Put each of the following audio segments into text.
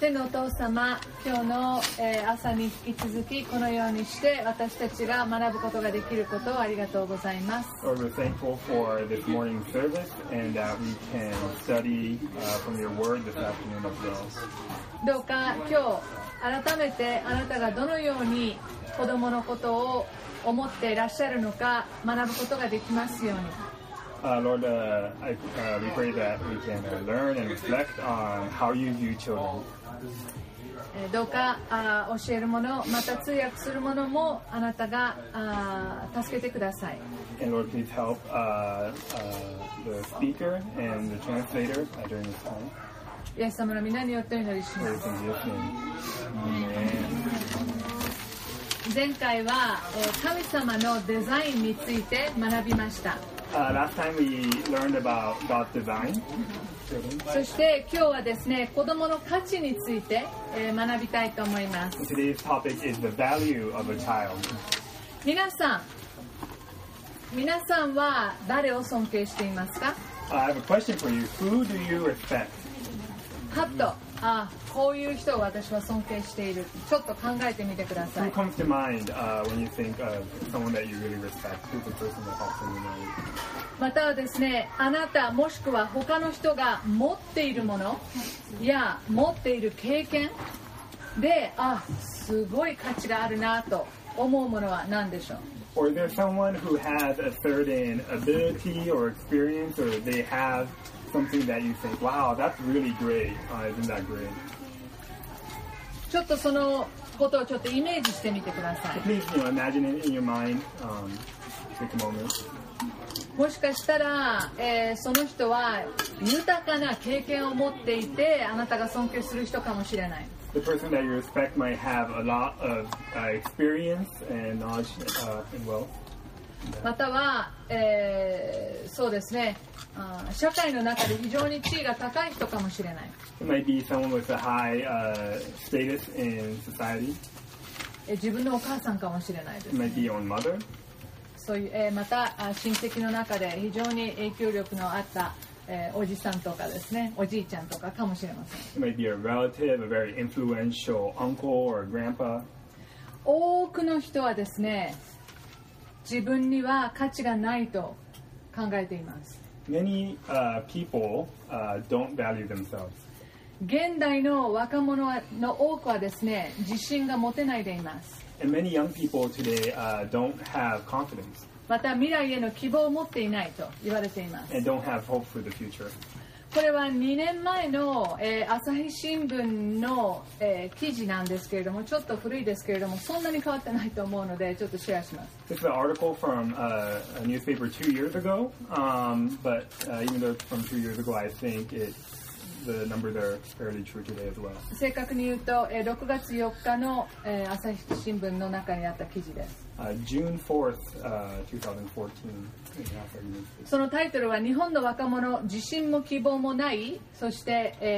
天のお父様、今日の朝に引き続きこのようにして私たちが学ぶことができることをありがとうございます。 Lord, we're thankful for this morning service and that we can study from your word this afternoon as well. どうか今日改めてあなたがどのように子供のことを思っていらっしゃるのか学ぶことができますように。 Lord, we pray that we can learn and reflect on how you view children. どうか教えるもの、また通訳するものもあなたが助けてください。 And Lord, please help the speaker and the translator during this time. イエス様の皆によってお祈りします。前回は神様のデザインについて学びました。 Last time we learned about God's design. そして今日はですね、子供の価値について学びたいと思います。 Today's topic is the value of a child. 皆さんは誰を尊敬していますか？ I have a question for you. Who do you respect? はっと、こういう人を私は尊敬している。ちょっと考えてみてくださ Who い。 comes to mind when you think of someone that you really respect? Who's the person that helps you know? またはですね、あなたもしくは他の人が持っているものや持っている経験ですごい価値があるなと思うものは何でしょう？ Or is there someone who has a certain ability or experience, or they have something that you think, wow, that's really great. Isn't that great? ちょっとそのことをちょっとイメージしてみてください。 Please, imagine it in your mind. Take a moment. もしかしたら、その人は豊かな経験を持っていてあなたが尊敬する人かもしれない。 The person that you respect might have a lot of experience and knowledge and wealth. または、そうですね、社会の中で非常に地位が高い人かもしれない。 It might be someone with a high status in society. 自分のお母さんかもしれないです、 It might be your own mother. そういう、また親戚の中で非常に影響力のあった、おじさんとかですね、おじいちゃんとかかもしれません。 It might be a relative, a very influential uncle or grandpa. 多くの人はですね、自分には価値がないと考えています。 Many people don't value themselves. 現代の若者の多くはですね、自信が持てないでいます。 And many young people today don't have confidence また未来への希望を持っていないと言われています。 and don't have hope for the future. これは2年前の、朝日新聞の、記事なんですけれども、ちょっと古いですけれども、そんなに変わってないと思うのでちょっとシェアします。 This is an article from a newspaper 2 years ago, but even though it's from 2 years ago, I think the numbers are fairly true today as well. 正確に言うと、6月4日の、朝日新聞の中にあった記事です。 June 4th, 2014. そのタイトルは日本の若者自信も希望もないそして、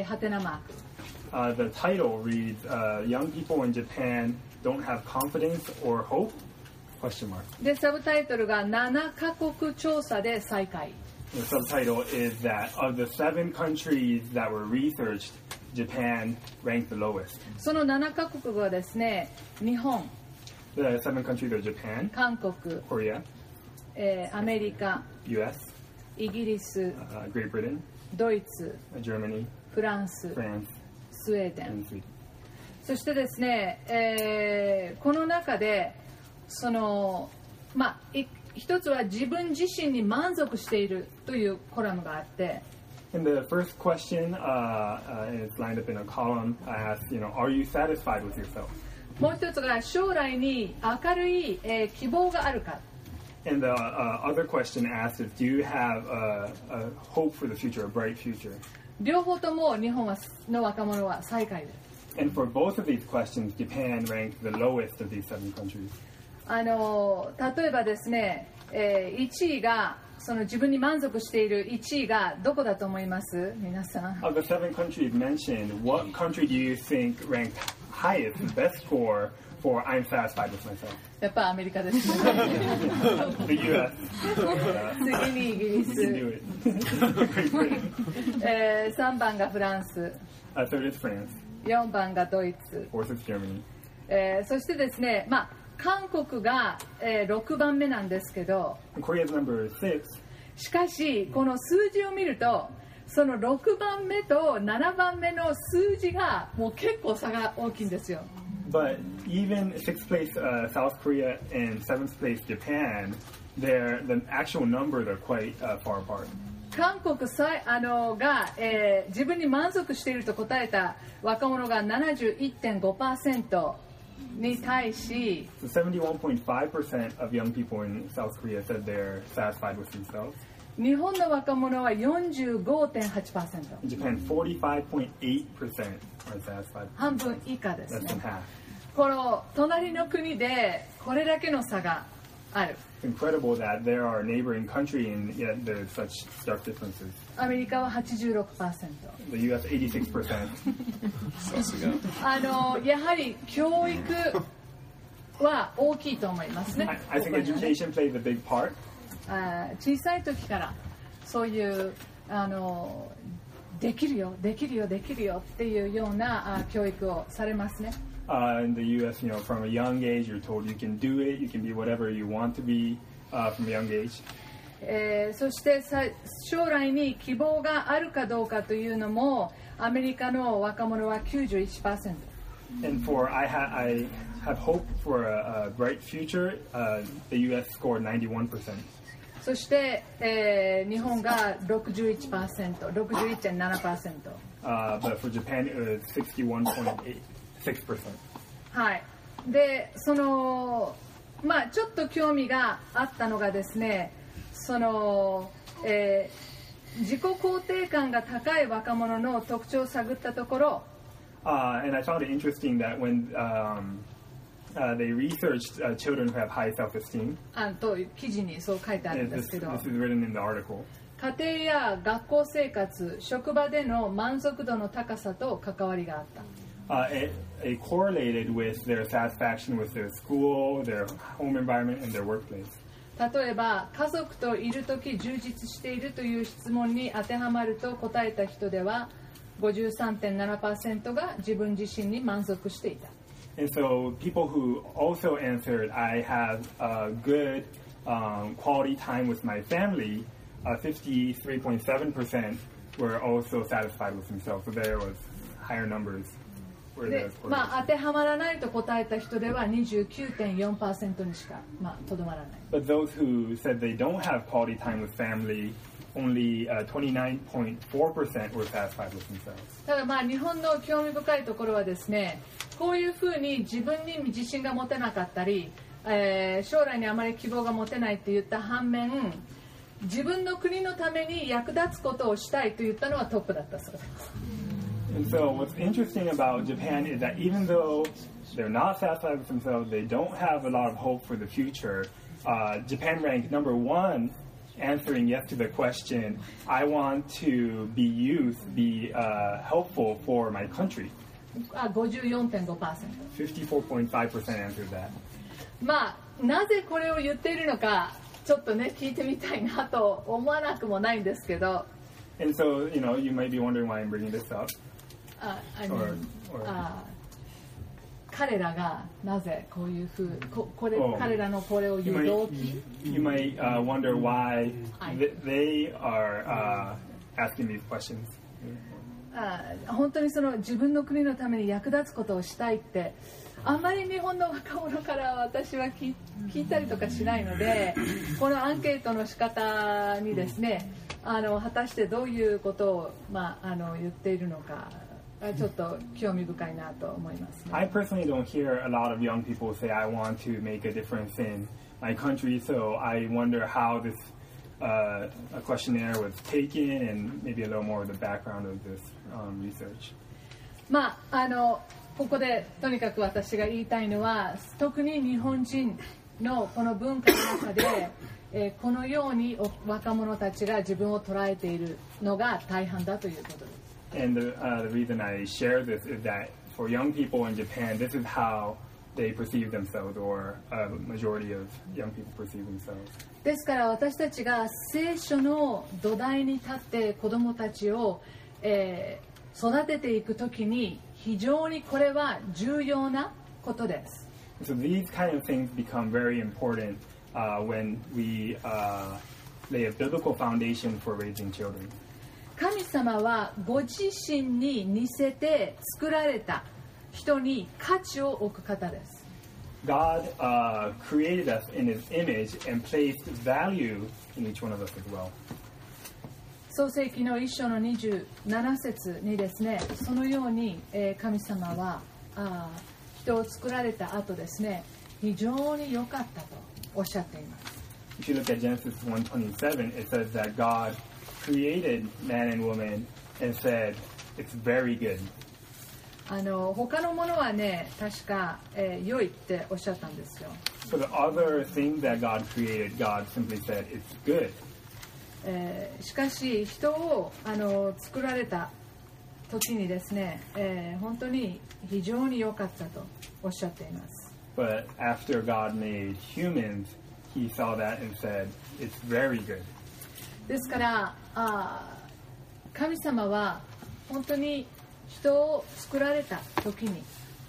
ハテナマーク。 The title reads, Young people in Japan don't have confidence or hope? Question mark. でサブタイトルが7カ国調査で最下位。 The subtitle is that of the 7 countries that were researched, Japan ranked the lowest. その7カ国はですね、日本、 The 7 countries are Japan, 韓国、 Korea, アメリカ、 US, イギリス、 Great Britain, ドイツ、 Germany, フランス、 France, スウェーデン。 and Sweden. そしてですね、この中でその一つは自分自身に満足しているというコラムがあって、 And the first question, and it's lined up in a column, asks, are you satisfied with yourself? もう一つが将来に明るい、希望があるか。 And the other question asks is, do you have a hope for the future, a bright future? 両方とも日本の若者は最下位です。 And for both of these questions, Japan ranked the lowest of these 7 countries. 例えばですね、1位がその自分に満足している1位がどこだと思います皆さん？ Of the 7 countries mentioned, what country do you think ranked highest, the best score for I'm satisfied with myself? やっぱアメリカです。 The US. 次にイギリ You can ス、 do it. Great Britain. 3番がフランス、 Third is France. 4番がドイツ、 fourth is Germany. そしてですね、韓国が、6番目なんですけど、 And Korea is number 6. しかしこの数字を見るとその6番目と7番目の数字がもう結構差が大きいんですよ。 But even 6th place South Korea and 7th place Japan, the actual numbers are quite far apart. 韓国が、自分に満足していると答えた若者が 71.5% に対し、 So 71.5% of young people in South Korea said they're satisfied with themselves. 日本の若者は 45.8%、 In Japan, 45.8% are satisfied. 半分以下です Less than ね。 half. この隣の国でこれだけの差がある。 It's incredible that there are a neighboring country and yet there's such stark differences. アメリカは 86%。 The U.S. 86%. さすが。 やはり教育は大きいと思いますね。 I think education plays a big part. 小さい時からそういうできるよできるよできるよっていうような教育をされますね。 In the U.S., from a young age, you're told you can do it, you can be whatever you want to be from a young age. そして将来に希望があるかどうかというのもアメリカの若者は 91%。 And I have hope for a bright future. The U.S. scored 91%. そして、日本が 61%、61.7%。 But for Japan, it was 61.6%. はい。で、ちょっと興味があったのがですね、自己肯定感が高い若者の特徴を探ったところ、 And I found it interesting that when they researched children who have high self-esteem, と記事にそう書いてあるん and ですけど、 this is written in the article, 家庭や学校生活、職場での満足度の高さと関わりがあった。 it correlated with their satisfaction with their school, their home environment, and their workplace. 例えば家族といるとき充実しているという質問に当てはまると答えた人では 53.7% が自分自身に満足していた。 And so people who also answered, I have a good quality time with my family, 53.7% were also satisfied with themselves. So there was higher numbers. で当てはまらないと答えた人では 29.4% にしか、とどまらない。 But those who said they don't have quality time with family, only 29.4% were satisfied with themselves. ただ日本の興味深いところはですね、こういうふうに自分に自信が持てなかったり、将来にあまり希望が持てないといった反面、自分の国のために役立つことをしたいと言ったのはトップだったそうです。 And so what's interesting about Japan is that even though they're not satisfied with themselves, they don't have a lot of hope for the future, Japan ranked number 1 answering yes to the question, I want to be helpful for my country. 54.5%。 54.5% answered that. なぜこれを言っているのかちょっとね聞いてみたいなと思わなくもないんですけど。 And so, you might be wondering why I'm bringing this up. 彼らがなぜこういうふう彼らのこれを言う動機 You might wonder why they are asking these questions. 本当に自分の国のために役立つことをしたいってあんまり日本の若者から私は聞いたりとかしないので、このアンケートの仕方にですね、果たしてどういうことを、言っているのかちょっと興味深いなと思いますね。 I personally don't hear a lot of young people say I want to make a difference in my country, so I wonder how this questionnaire was taken and maybe a little more of the background of this research. ここでとにかく私が言いたいのは、特に日本人のこの文化の中で、このように若者たちが自分を捉えているのが大半だということです。 And the reason I share this is that for young people in Japan, this is how they perceive themselves, or a majority of young people perceive themselves. ですから私たちが聖書の土台に立って子どもたちを、育てていくときに非常にこれは重要なことです。 So these kind of things become very important when we lay a biblical foundation for raising children. 神様はご自身に似せて作られた人に価値を置く方です。 God created us in His image and placed value in each one of us as well. 創世記の1章の27節にですね、そのように神様は人を作られた後ですね、非常に良かったとおっしゃっています。 If you look at Genesis 1:27, it says that God created man and woman and said, "It's very good." 他のものはね、確か、良いっておっしゃったんですよ。 For the other things that God created, God simply said, "It's good." しかし人を作られた時にですね、本当に非常に良かったとおっしゃっています。 But after God made humans, He saw that and said, "It's very good." ですから神様は本当に人を作られた時に、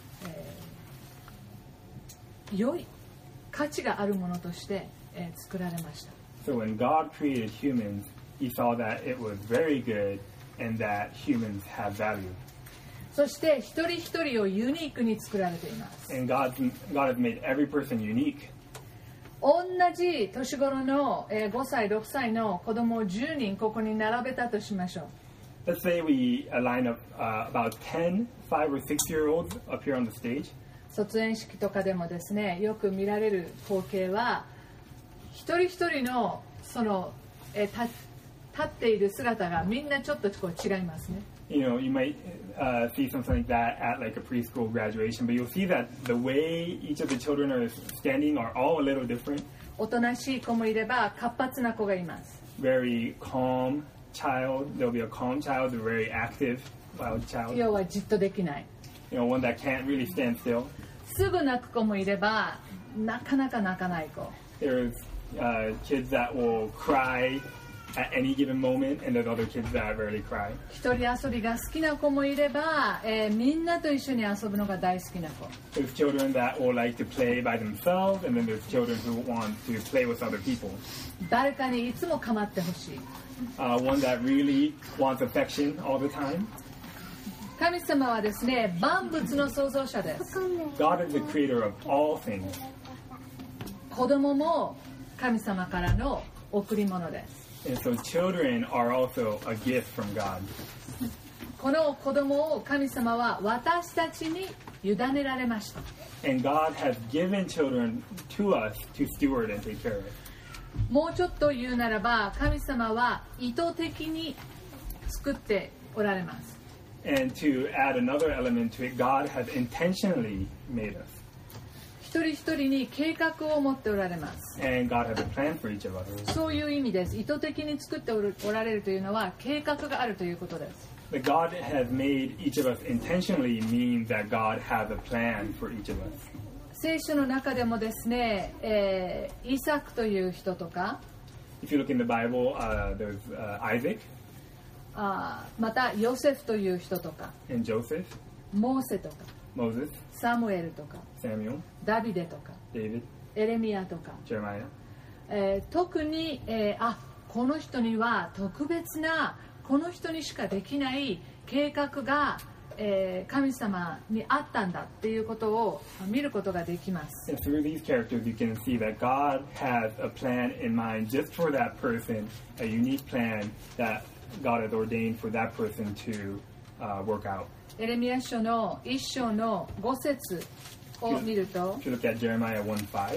良い価値があるものとして、作られました。 So when God created humans, He saw that it was very good and that humans have value. そして一人一人をユニークに作られています。 And God has made every person unique. 同じ年頃の5歳、6歳の子供を10人ここに並べたとしましょう。 Let's say we line up about 10 5 or 6-year-olds up here on the stage. 卒園式とかでもですね、よく見られる光景は一人一人のその立っている姿がみんなちょっとこう違いますね。 You know, you might see something like that at like a preschool graduation, but you'll see that the way each of the children are standing are all a little different. おとなしい子もいれば活発な子がいます。 Very calm child, there'll be a calm child, a very active wild child. 要はじっとできない。 You know, one that can't really stand still. すぐ泣く子もいればなかなか泣かない子。 There's kids that will cry at any given moment, and there's other kids that rarely cry. 一人遊びが好きな子もいれば、みんなと一緒に遊ぶのが大好きな子。 There's children that will like to play by themselves, and then there's children who want to play with other people. 誰かにいつも構ってほしい。 One that really wants affection all the time. 神様はですね、万物の創造者です。 God is the creator of all things. 子供も神様からの贈り物です。 And so children are also a gift from God. この子供を神様は私たちに委ねられました。 And God has given children to us to steward and take care of it. もうちょっと言うならば、神様は意図的に作っておられます。 And to add another element to it, God has intentionally made us. 一人一人に計画を持っておられます。 And God has a plan for each of us. そういう意味です。意図的に作っておられるというのは計画があるということです。 That God has made each of us intentionally means that God has a plan for each of us. 聖書の中でもですね、イサクという人とか、 If you look in the Bible, there's Isaac. またヨセフという人とか、 And Joseph, モーセとか、 Moses, サムエルとか、 Samuel, ダビデとか、 David, エレミヤとか、 Jeremiah. 特に、この人には特別なこの人にしかできない計画が、神様にあったんだっていうことを見ることができます。 And through these characters, you can see that God has a plan in mind just for that person, a unique plan that God has ordained for that person to work out. エレミヤ書の1章の5節を見ると、 If you look at Jeremiah 1:5.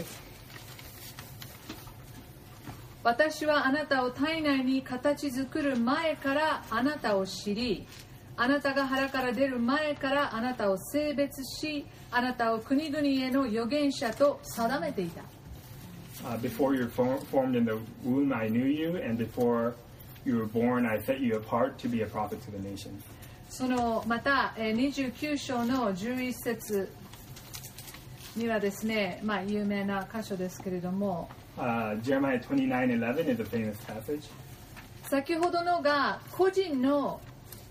私はあなたを体内に形作る前からあなたを知り、あなたが腹から出る前からあなたを性別し、あなたを国々への預言者と定めていた。 Before you were formed in the womb, I knew you, and before you were born, I set you apart to be a prophet to the nations. そのまた29章の11節にはですね、有名な箇所ですけれども、 Jeremiah 29:11 is a famous passage. 先ほどのが個人の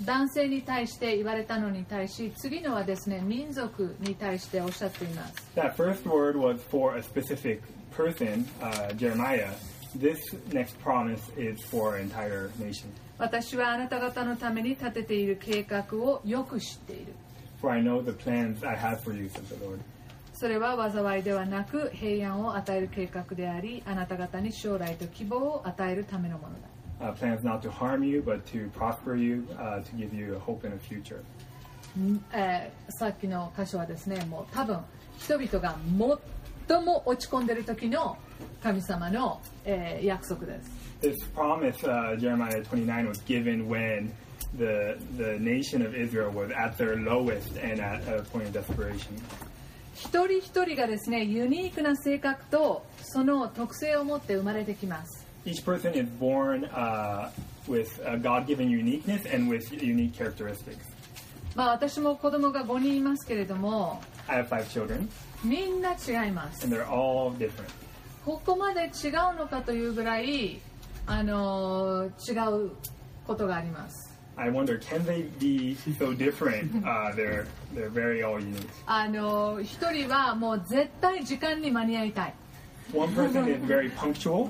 男性に対して言われたのに対し、次のはですね、民族に対しておっしゃっています。 That first word was for a specific person, Jeremiah. This next promise is for an entire nation. 私はあなた方のために立てている計画をよく知っている。 For I know the plans I have for you, says the Lord. それは災いではなく平安を与える計画であり、あなた方に将来と希望を与えるためのものだ。 Plans not to harm you, but to prosper you, to give you a hope and a future. さっきの箇所はですね、もう多分人々が最も落ち込んでいる時の神様の、約束です。 This promise, Jeremiah 29, was given when the nation of Israel was at their lowest and at a point of desperation. 一人一人がですね、ユニークな性格とその特性を持って生まれてきます。 Each person is born with a God-given uniqueness and with unique characteristics. 私も子供が5人いますけれども、 I have 5 children. みんな違います。 And they're all different. ここまで違うのかというぐらい、違うことがあります。 I wonder, can they be so different? They're very all unique. 一人はもう絶対時間に間に合いたい。 One person is very punctual.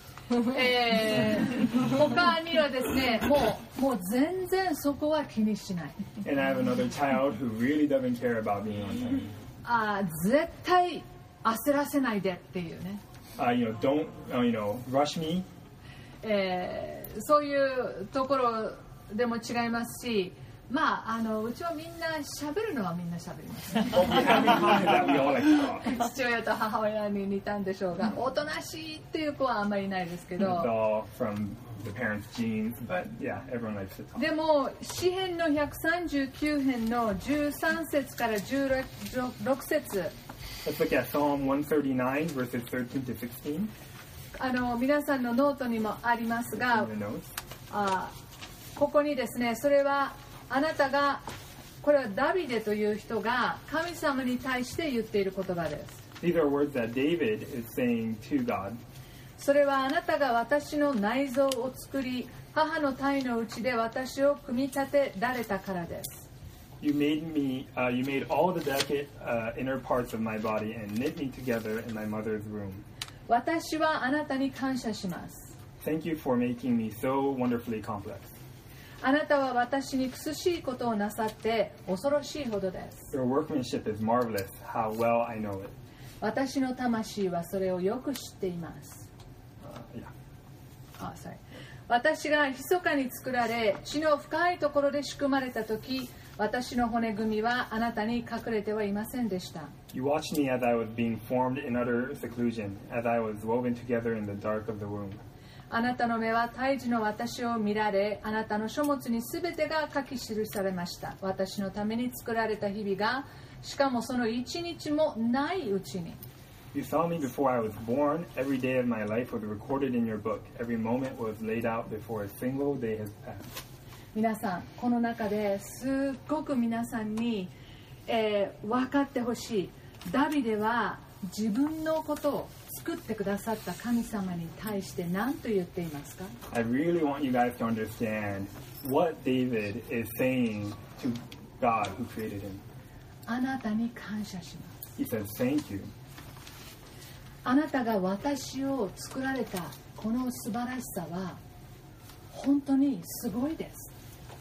他にはですね、もう全然そこは気にしない。 And I have another child who really doesn't care about being on time. 絶対焦らせないでっていうね。 Don't, rush me. そういうところでも違いますし、うちはみんな喋るのはみんな喋ります、ね。父親と母親に似たんでしょうが、おとなしいっていう子はあんまりいないですけど。 The parents' genes, but yeah, everyone likes to talk. でも詩編の139編の13節から16節。 Let's look at Psalm 139 verses 13 to 16. 皆さんのノートにもありますが、ここにですね、それはあなたが、これはダビデという人が神様に対して言っている言葉です。 These are words that David is saying to God. それはあなたが私の内臓を作り、母の胎のうちで私を組み立てられたからです。 You made all the delicate inner parts of my body and knit me together in my mother's womb. 私はあなたに感謝します。 Thank you for making me so wonderfully complex. あなたは私に苦しいことをなさって恐ろしいほどです。 Your workmanship is marvelous. How well I know it. 私の魂はそれをよく知っています。私が密かに作られ、地の深いところで仕組まれたとき、私の骨組みはあなたに隠れてはいませんでした。 You watched me as I was being formed in utter seclusion, as I was woven together in the dark of the womb. あなたの目は胎児の私を見られ、あなたの書物にすべてが書き記されました。私のために作られた日々が、しかもその一日もないうちに。 You saw me before I was born. Every day of my life was recorded in your book. Every moment was laid out before a single day has passed. 皆さん、この中ですっごく皆さんに、分かってほしい。ダビデは自分のことを作ってくださった神様に対して何と言っていますか？ I really want you guys to understand what David is saying to God who created him. あなたに感謝します。 He says, thank you. あなたが私を作られたこの素晴らしさは本当にすごいです。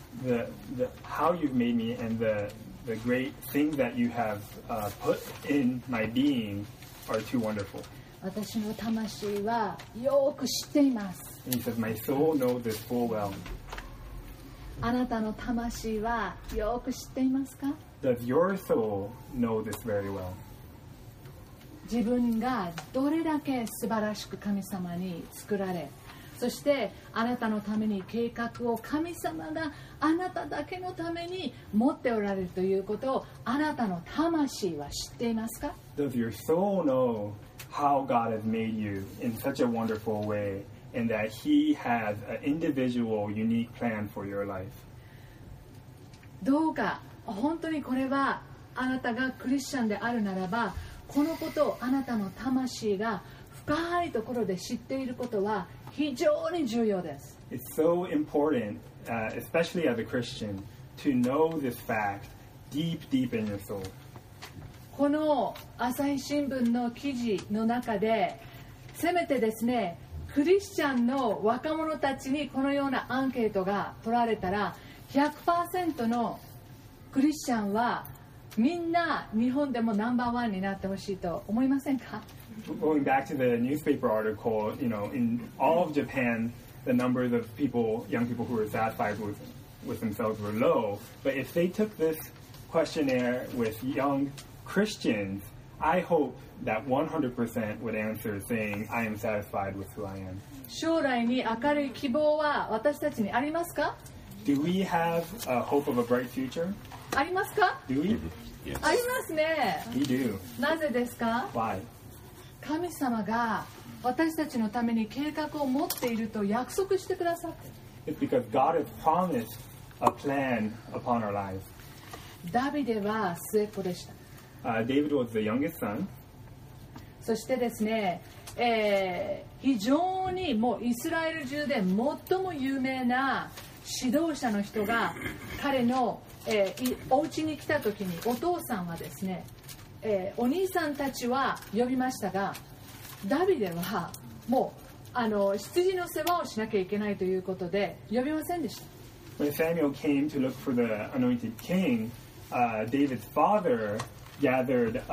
How you've made me and the great things that you have put in my being are too wonderful. 私の魂はよく知っています。 And he says, my soul knows this full well. あなたの魂はよく知っていますか？ Does your soul know this very well? 自分がどれだけ素晴らしく神様に作られ、そしてあなたのために計画を神様があなただけのために持っておられるということをあなたの魂は知っていますか？ Does your soul know how God has made you in such a wonderful way and that He has an individual, unique plan for your life? どうか本当にこれはあなたがクリスチャンであるならば、このことをあなたの魂が深いところで知っていることは非常に重要です。 It's so important especially as a Christian, to know this fact deep, deep in your soul. この朝日新聞の記事の中でせめてですねクリスチャンの若者たちにこのようなアンケートが取られたら 100% のクリスチャンはみんな日本でもナンバーワンになってほしいと思いませんか？ Going back to the newspaper article, in all of Japan, the numbers of people, young people who were satisfied with themselves were low. But if they took this questionnaire with young Christians, I hope that 100% would answer saying, I am satisfied with who I am. 将来に明るい希望は私たちにありますか？ Do we have a hope of a bright future? ありますか？ Do we? Yes. ありますね。 We do. なぜですか？ Why? 神様が私たちのために計画を持っていると約束してくださって It's because God has promised a plan upon our lives. ダビデは末っ子でした。 David was the youngest son. そしてですね、非常にもうイスラエル中で最も有名な指導者の人が彼の、お家に来た時にお父さんはですね、お兄さんたちは呼びましたがダビデはもう羊の世話をしなきゃいけないということで呼びませんでした。 When Samuel came to look for the anointed king, David's father gathered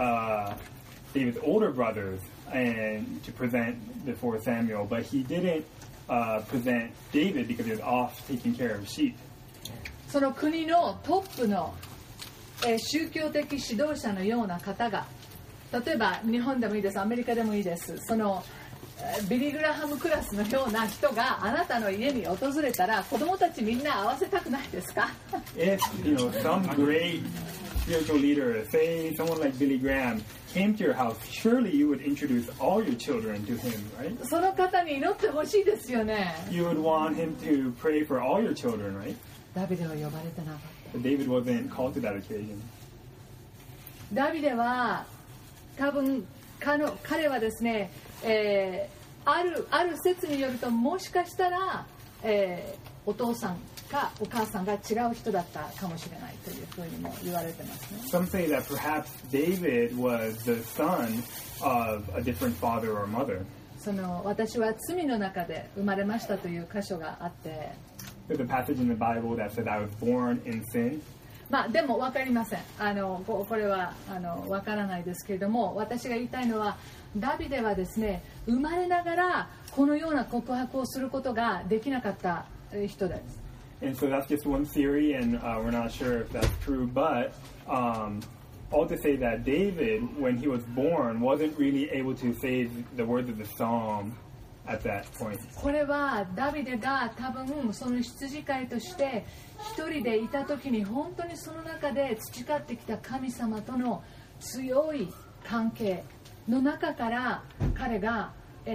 David's older brothers and to present before Samuel, but he didn't present David because he was off taking care of sheep. その国のトップの、宗教的指導者のような方が例えば日本でもいいですアメリカでもいいですそのビリー・グラハムクラスのような人があなたの家に訪れたら子供たちみんな合わせたくないですか？ If, some great spiritual leader, say someone like Billy Graham, came to your house, surely you would introduce all your children to him, right? その方に祈ってほしいですよね。 You would want him to pray for all your children, right? ダビデは呼ばれてなかった。 But David wasn't called to that occasion. ダビデは多分彼はですね、ある説によるともしかしたら、お父さんかお母さんが違う人だったかもしれないというふうにも言われてますね。 Some say that perhaps David was the son of a different father or mother. 私は罪の中で生まれましたという箇所があって、 There's a passage in the Bible that said I was born in sin. でも分かりません。これは分からないですけれども、私が言いたいのはダビデはですね、生まれながらこのような告白をすることができなかった人です。 And so that's just one theory, and we're not sure if that's true. But all to say that David, when he was born, wasn't really able to say the words of the psalm at that point. これはダビデが多分その羊飼いとして一人でいた時に本当にその中で培ってきた神様との強い関係の中から彼が、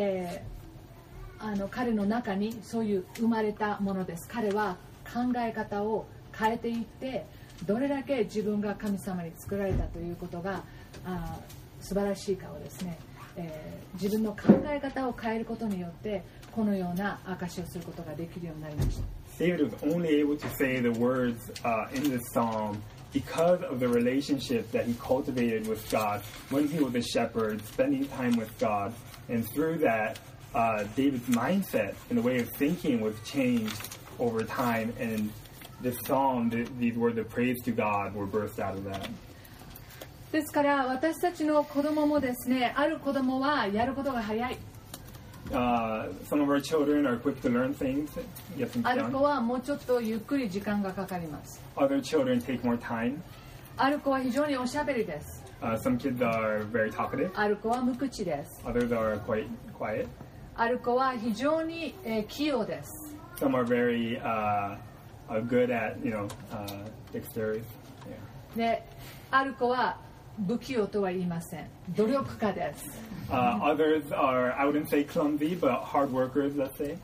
彼の中にそういう生まれたものです。彼は考え方を変えていってどれだけ自分が神様に作られたということが素晴らしいかをですね、自分の考え方を変えることによってこのような証しをすることができるようになりました。 David was only able to say the words in this psalm because of the relationship that he cultivated with God when he was a shepherd, spending time with God. And through that, David's mindset and the way of thinking was changed over time. And this psalm, these words of praise to God were birthed out of that. ですから私たちの子供もですね、ある子供はやることが早い。 Some of our children are quick to learn things, get things ある子 done. はもうちょっとゆっくり時間がかかります。 Other children take more time. ある子は非常におしゃべりです。 Some kids are very talkative. ある子は無口です。 Others are quite quiet. ある子は非常に、器用です。 Some are very good at, dexterity. Yeah. で、ある子は不器用とは言いません。努力家です。 Others are, I wouldn't say clumsy, but hard workers, let's say.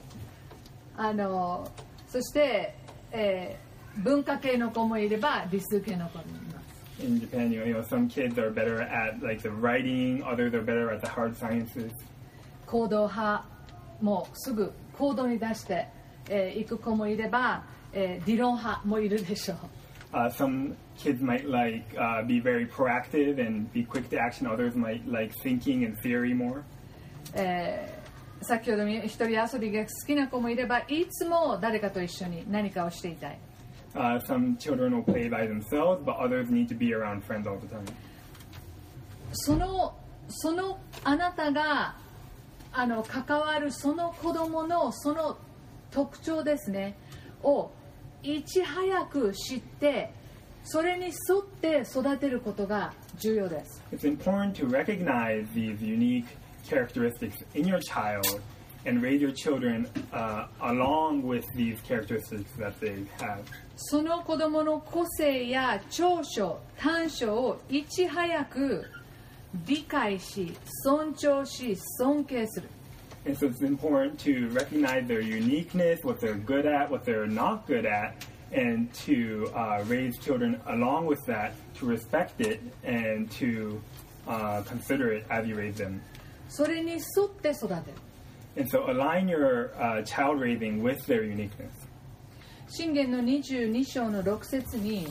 そして、文化系の子もいれば理数系の子もいます。 In Japan, some kids are better at like the writing, others are better at the hard sciences. 行動派もすぐ行動に出していく子もいれば、 理論派もいるでしょう。 Some kids might like be very proactive and be quick to action. Others might like thinking and theory more. 先ほど一人遊びが好きな子もいれば、いつも誰かと一緒に何かをしていたい。 Some children will play by themselves, but others need to be around friends all the time. そのあなたが関わるその子供のその特徴ですねをいち早く知ってそれに沿って育てることが重要です。 It's important to recognize these unique characteristics in your child and raise your children along with these characteristics that they have. その子供の個性や長所、短所をいち早く理解し、尊重し、尊敬する。 And so it's important to recognize their uniqueness, what they're good at, what they're not good at, and to raise children along with that, to respect it and to consider it as you raise them. それに沿って育てる。 And so align your child raising with their uniqueness. 箴言の22章の6節に、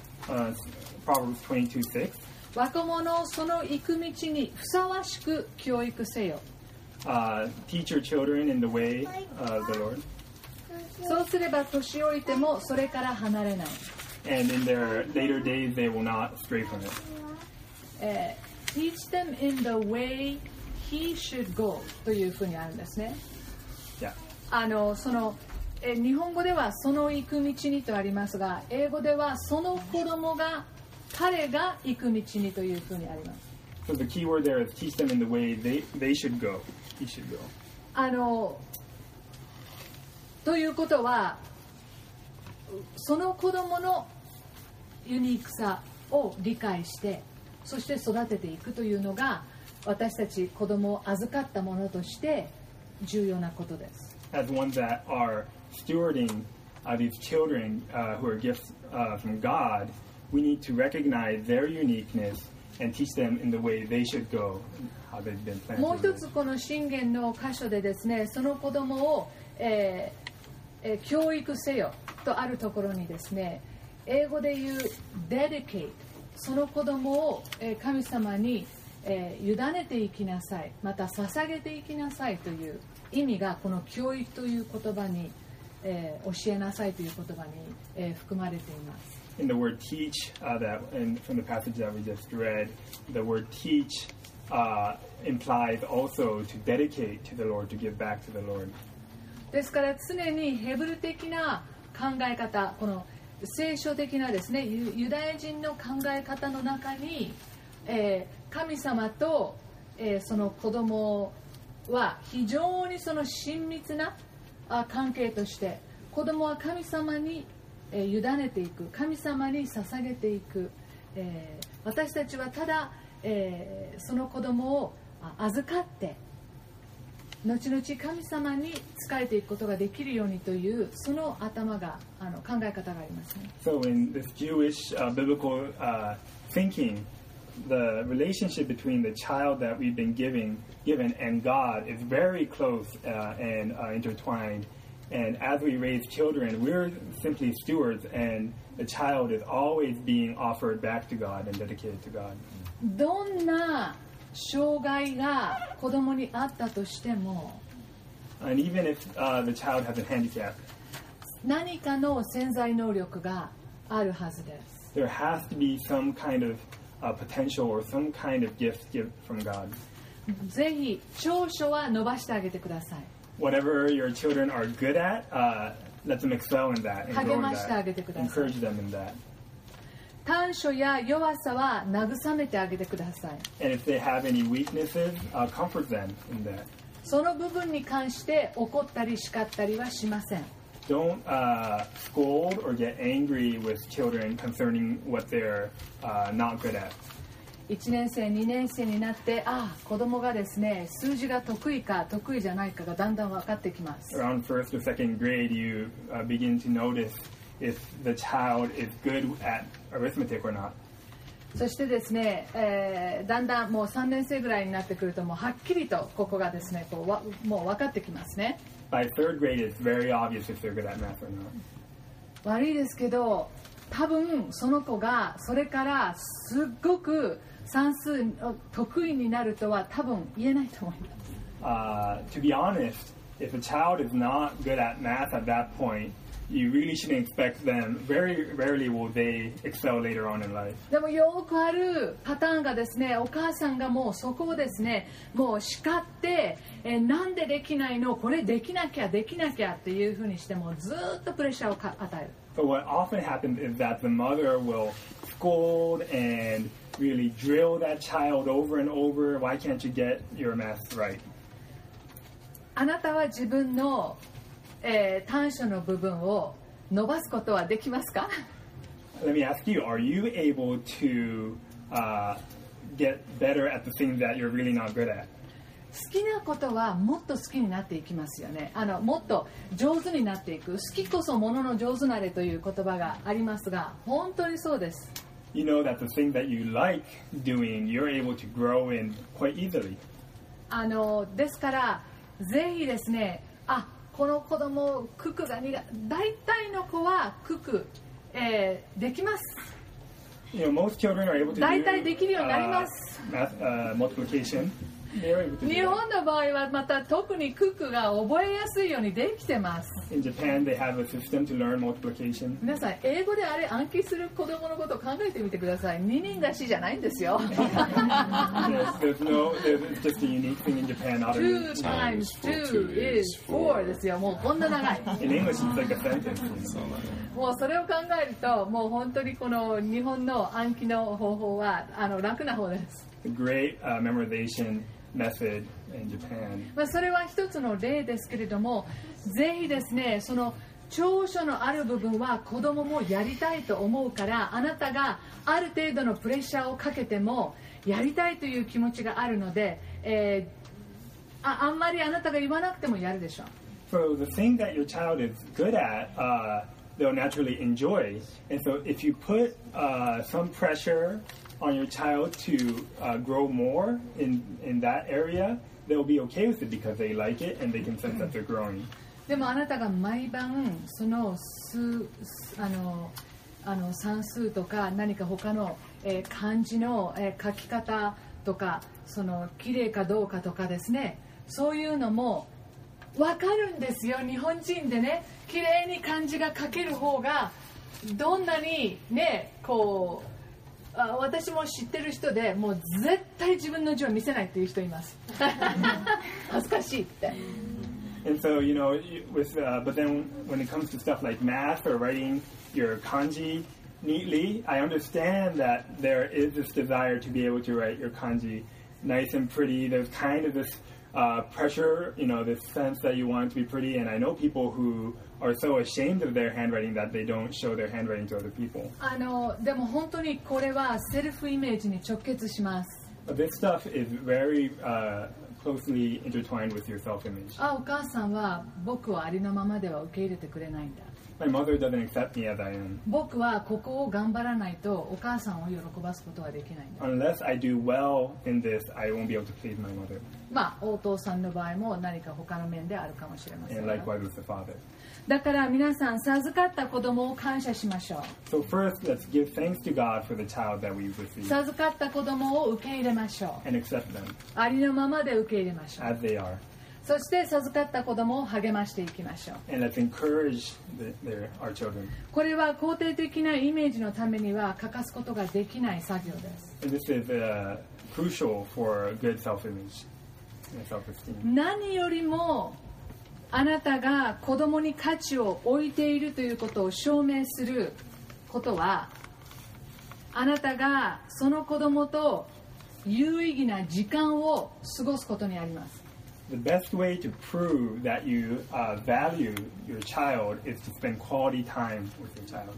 Proverbs 22:6. 若者をその行く道にふさわしく教育せよ。 Teach your children in the way of the Lord. そうすれば年老いてもそれから離れない。 And in their later days they will not stray from it. Teach them in the way he should go というふうにあるんですね。 Yeah. 日本語ではその行く道にとありますが、英語ではその子供が彼が行く道にというふうにあります。 So the key word there is teach them in the way they should go. He should go. ということは、その子供のユニークさを理解して、そして育てていくというのが、私たち子供を預かったものとして重要なことです。 As ones that are stewarding these children who are gifts from God, we need to recognize their uniqueness and teach them in the way they should go, how they've been planted. もう一つこの箴言の箇所でですね、その子供を、教育せよとあるところにですね、英語で言う dedicate、その子供を神様に委ねていきなさい、また捧げていきなさいという意味がこの教育という言葉に、教えなさいという言葉に、含まれています。 In the word teach, and from the passage that we just read, the word teach implies also to dedicate to the Lord, to give back to the Lord. ですから常にヘブル的な考え方、この聖書的なですね、ユダヤ人の考え方の中に、神様と、その子供は非常にその親密な関係として、子供は神様に委ねていく、神様に捧げていく、私たちはただ、その子供を預かって後々神様に仕えていくことができるようにというその頭が考え方がありますね。 So in this Jewish biblical thinking, the relationship between the child that we've been given and God is very close and intertwined. And as we raise children, we're simply stewards, and the child is always being offered back to God and dedicated to God. どんな障害が子供にあったとしても、 And even if the child has a handicap, 何かの潜在能力があるはずです。 there has to be some kind of potential or some kind of gift from God. ぜひ長所は伸ばしてあげてください。 Whatever your children are good at, let them excel in that and grow in 励ましてあげてください。 encourage them in that. 短所や弱さは慰めてあげてください。 And if they have any weaknesses, comfort them in that. その部分に関して怒ったり叱ったりはしません。 Don't scold or get angry with children concerning what they're not good at. 1年生2年生になって子供がですね数字が得意か得意じゃないかがだんだん分かってきます。 Around first or second grade, you begin to notice if the child is good at arithmetic or not. そしてですね、だんだんもう3年生ぐらいになってくるともうはっきりとここがですねもう分かってきますね。 By third grade, it's very obvious if they're good at math or not. 悪いですけど多分その子がそれからすっごく算数得意になるとは多分言えないと思います。 To be honest, if a child is not good at math at that point, you really shouldn't expect them. Very rarely will they excel later on in life. でもよくあるパターンがですね、お母さんがもうそこをですね、もう叱って、なんでできないの、これできなきゃできなきゃっていうふうにしてもずっとプレッシャーを与える。 But what often happens is that the mother will scold and really drill that child over and over. Why can't you get your math right? あなたは自分の、短所の部分を伸ばすことはできますか？ Let me ask you, are you able to get better at the things that you're really not good at? 好きなことはもっと好きになっていきますよね。もっと上手になっていく。好きこそものの上手なれという言葉がありますが、本当にそうです。 You know that the thing that you like doing, you're able to grow in quite easily. ですからぜひですね、この子供九九が苦手、大体の子は九九、できます。 You know, most children are able to 大体できるようになります。 multiplication. 日本の場合はまた特に九九が覚えやすいようにできてます。 In Japan, they have a system to learn multiplication. 皆さん英語であれ暗記する子供のことを考えてみてください。二人出しじゃないんですよ。 There's just a unique thing in Japan. Not Two times two is four ですよ。もうこんな長い。 in English, it's like a sentence. もうそれを考えると、もう本当にこの日本の暗記の方法は楽な方です。 A great memorization method in Japan. それは一つの例ですけれども、ぜひですね、その長所のある部分は子供もやりたいと思うから、あなたがある程度のプレッシャーをかけてもやりたいという気持ちがあるので、あんまりあなたが言わなくてもやるでしょう。 So the thing that your child is good at, they'll naturally enjoy. And so if you put some pressure on your child to grow more in that area, they'll be okay with it because they like it and they can sense that they're growing. でもあなたが毎晩その算数とか何か他の、漢字の、書き方とかその綺麗かどうかとかですね、そういうのも分かるんですよ。日本人でね、綺麗に漢字が書ける方がどんなにね、こう私も知ってる人でもう絶対自分の字を見せないっていう人います。恥ずかしいって。 And so, you know, but then when it comes to stuff like math or writing your kanji neatly, I understand that there is this desire to be able to write your kanji nice and pretty. There's kind of this pressure, you know, this sense that you want it to be pretty. And I know people who are so ashamed of their handwriting that they don't show their handwriting to other people. でも本当にこれはセルフイメージに直結します。 But this stuff is very closely intertwined with your self-image. お母さんは僕をありのままでは受け入れてくれないんだ。 My mother doesn't accept me as I am. 僕はここを頑張らないとお母さんを喜ばすことはできないんだ。 Unless I do well in this, I won't be able to please my mother. お父さんの場合も何か他の面であるかもしれません。 And likewise with the father. だから皆さん授かった子供を感謝しましょう。 So first, let's give thanks to God for the child that we've received. 授かった子供を受け入れましょう。 And accept them ありのままで受け入れましょう。 as they are. そして授かった子供を励ましていきましょう。 And let's encourage our children. これは肯定的なイメージのためには欠かすことができない作業です。 And this is crucial for good self-image and self-esteem. 何よりもあなたが子供に価値を置いているということを証明することは、あなたがその子供と有意義な時間を過ごすことにあります。 The best way to prove that you value your child is to spend quality time with your child.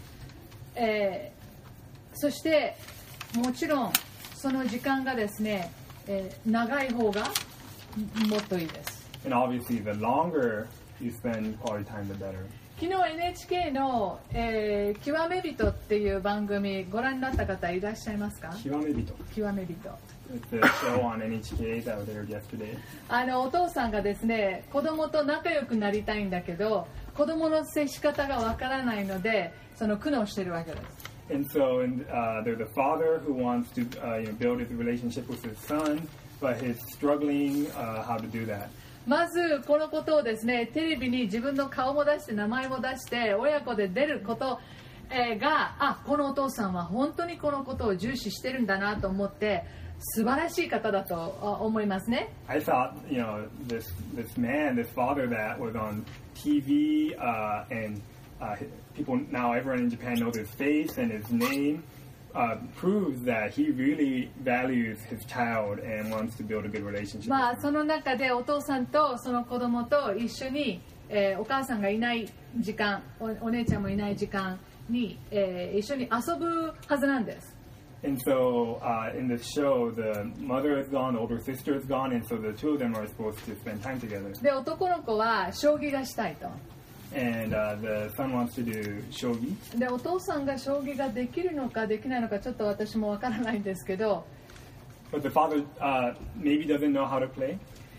そしてもちろんその時間がですね、長い方がもっといいです。 And obviously, the longer you spend quality time, the better. 昨日 NHK の、極め人っていう番組ご覧になった方いらっしゃいますか？ 極め人。 極め人。 It's a show on NHK that was aired yesterday. お父さんがですね、子供と仲良くなりたいんだけど、子供の接し方がわからないので、その苦悩してるわけです。 And so there's a father who wants to build his relationship with his son, but he's struggling how to do that. まずこのことをですね、テレビに自分の顔も出して名前も出して親子で出ること、がこのお父さんは本当にこのことを重視してるんだなと思って素晴らしい方だと思いますね。 I thought, this man, this father that was on TV and people now, everyone in Japan knows his face and his name, proves that he really values his child and wants to build a good relationship. その中でお父さんとその子供と一緒に、お母さんがいない時間、お姉ちゃんもいない時間に、一緒に遊ぶはずなんです。 And so in this show, the mother is gone, the older sister is gone, and so the two of them are supposed to spend time together. で、男の子は将棋がしたいと。 And the son wants to do shogi. で、お父さんが将棋ができるのかできないのかちょっと私もわからないんですけど、 But the father maybe doesn't know how to play.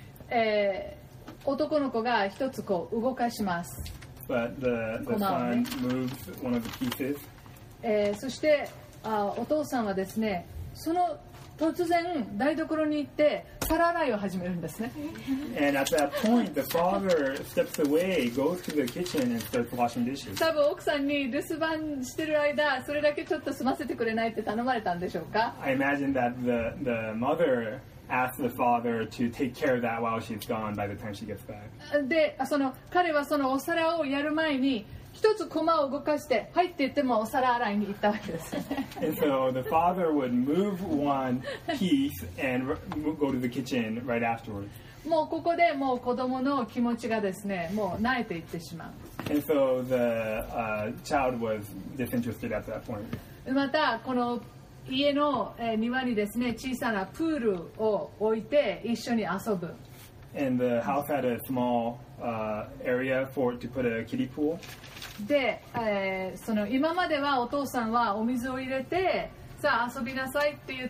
男の子が一つこう動かします。 But the son moves one of the pieces. そしてお父さんはですね、その突然台所に行って皿洗いを始めるんですね。 And at that point, the father steps away, goes to the kitchen, and starts washing dishes. 多分奥さんに留守番してる間、それだけちょっと済ませてくれないって頼まれたんでしょうか。 I imagine that the mother asked the father to take care of that while she's gone by the time she gets back. で、彼はそのお皿をやる前に一つ駒を動かして入って言ってもお皿洗いに行ったわけですよね。 And so the father would move one piece and go to the kitchen right afterwards. もうここでもう子供の気持ちがですね、もう萎えていってしまう。 And so the child was disinterested at that point. またこの家の庭にですね、小さなプールを置いて一緒に遊ぶ。 And the house had a small area to put a kiddie pool. で、その今まではお父さんはお水を入れてさあ遊びなさいって言って、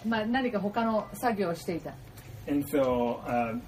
何か他の作業をしていた。 And so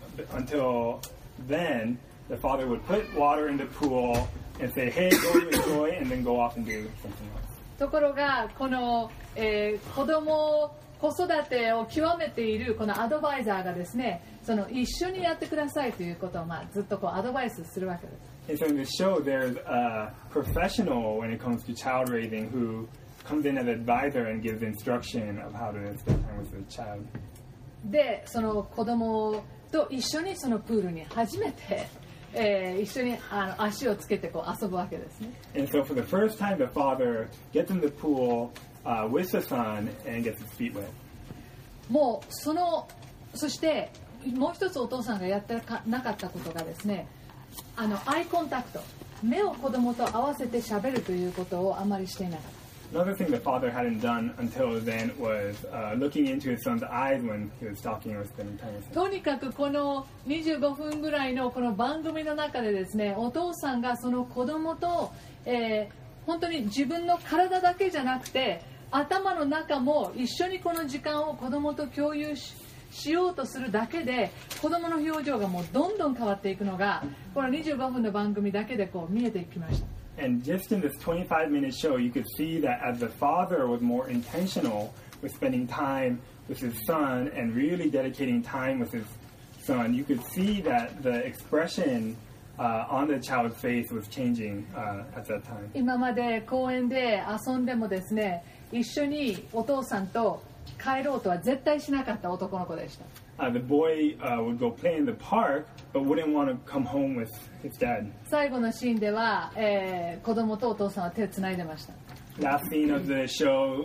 until then, the father would put water in the pool and say, "Hey, go enjoy," and then go off and do something else. ところがこの、子育てを極めているこのアドバイザーがですね、その一緒にやってくださいということをずっとこうアドバイスするわけです。 And so in this show, there's a professional when it comes to child raising who comes in as an advisor and gives instruction of how to spend time with the child. で、その子供と一緒にそのプールに初めて、一緒に足をつけてこう遊ぶわけですね。 And so for the first time, the father gets in the pool with the son and gets his feet wet. もうそしてもう一つお父さんがやってなかったことがですね、アイコンタクト、目を子供と合わせて喋るということをあまりしていなかった。 Another thing the father hadn't done until then was looking into his son's eyes when he was talking or spending time with him. とにかくこの25分ぐらいのこの番組の中でですね、お父さんがその子供と、本当に自分の体だけじゃなくて頭の中も一緒にこの時間を子供と共有しようとするだけで子供の表情がもうどんどん変わっていくのがこの25分の番組だけでこう見えてきました。 And just in this 25-minute show, you could see that as the father was more intentional with spending time with his son and really dedicating time with his son, you could see that the expression on the child's face was changing at that time. 今まで公園で遊んでもですね、一緒にお父さんと帰ろうとは絶対しなかった男の子でした。 The boy would go play in the park, but wouldn't want to come home with his dad. 最後のシーンでは、子供とお父さんは手をつないでました。 Last scene of the show,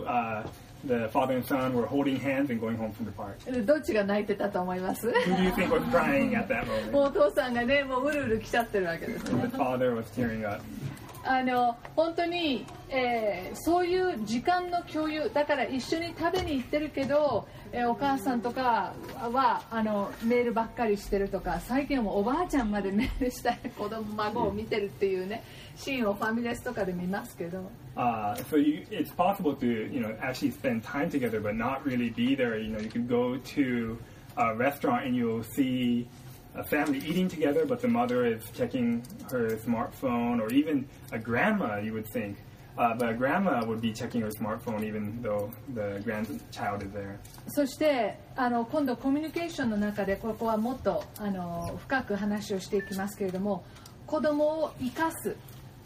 the father and son were holding hands and going home from the park. どっちが泣いてたと思います？ Who do you think was crying at that もう moment? お父さんがね、もううるうる来ちゃってるわけですね。 The father was tearing up. 本当に、そういう時間の共有だから一緒に食べに行ってるけど、お母さんとかはメールばっかりしてるとか、最近はもうおばあちゃんまでメールしたり子供孫を見てるっていうね、シーンをファミレスとかで見ますけど。 So it's possible to actually spend time together, but not really be there. You could go to a restaurant and you'll see a family eating together, but the mother is checking her smartphone, or even a grandma, you would think. But a grandma would be checking her smartphone even though the grandchild is there. そして今度コミュニケーションの中でここはもっと深く話をしていきますけれども、子供を生かす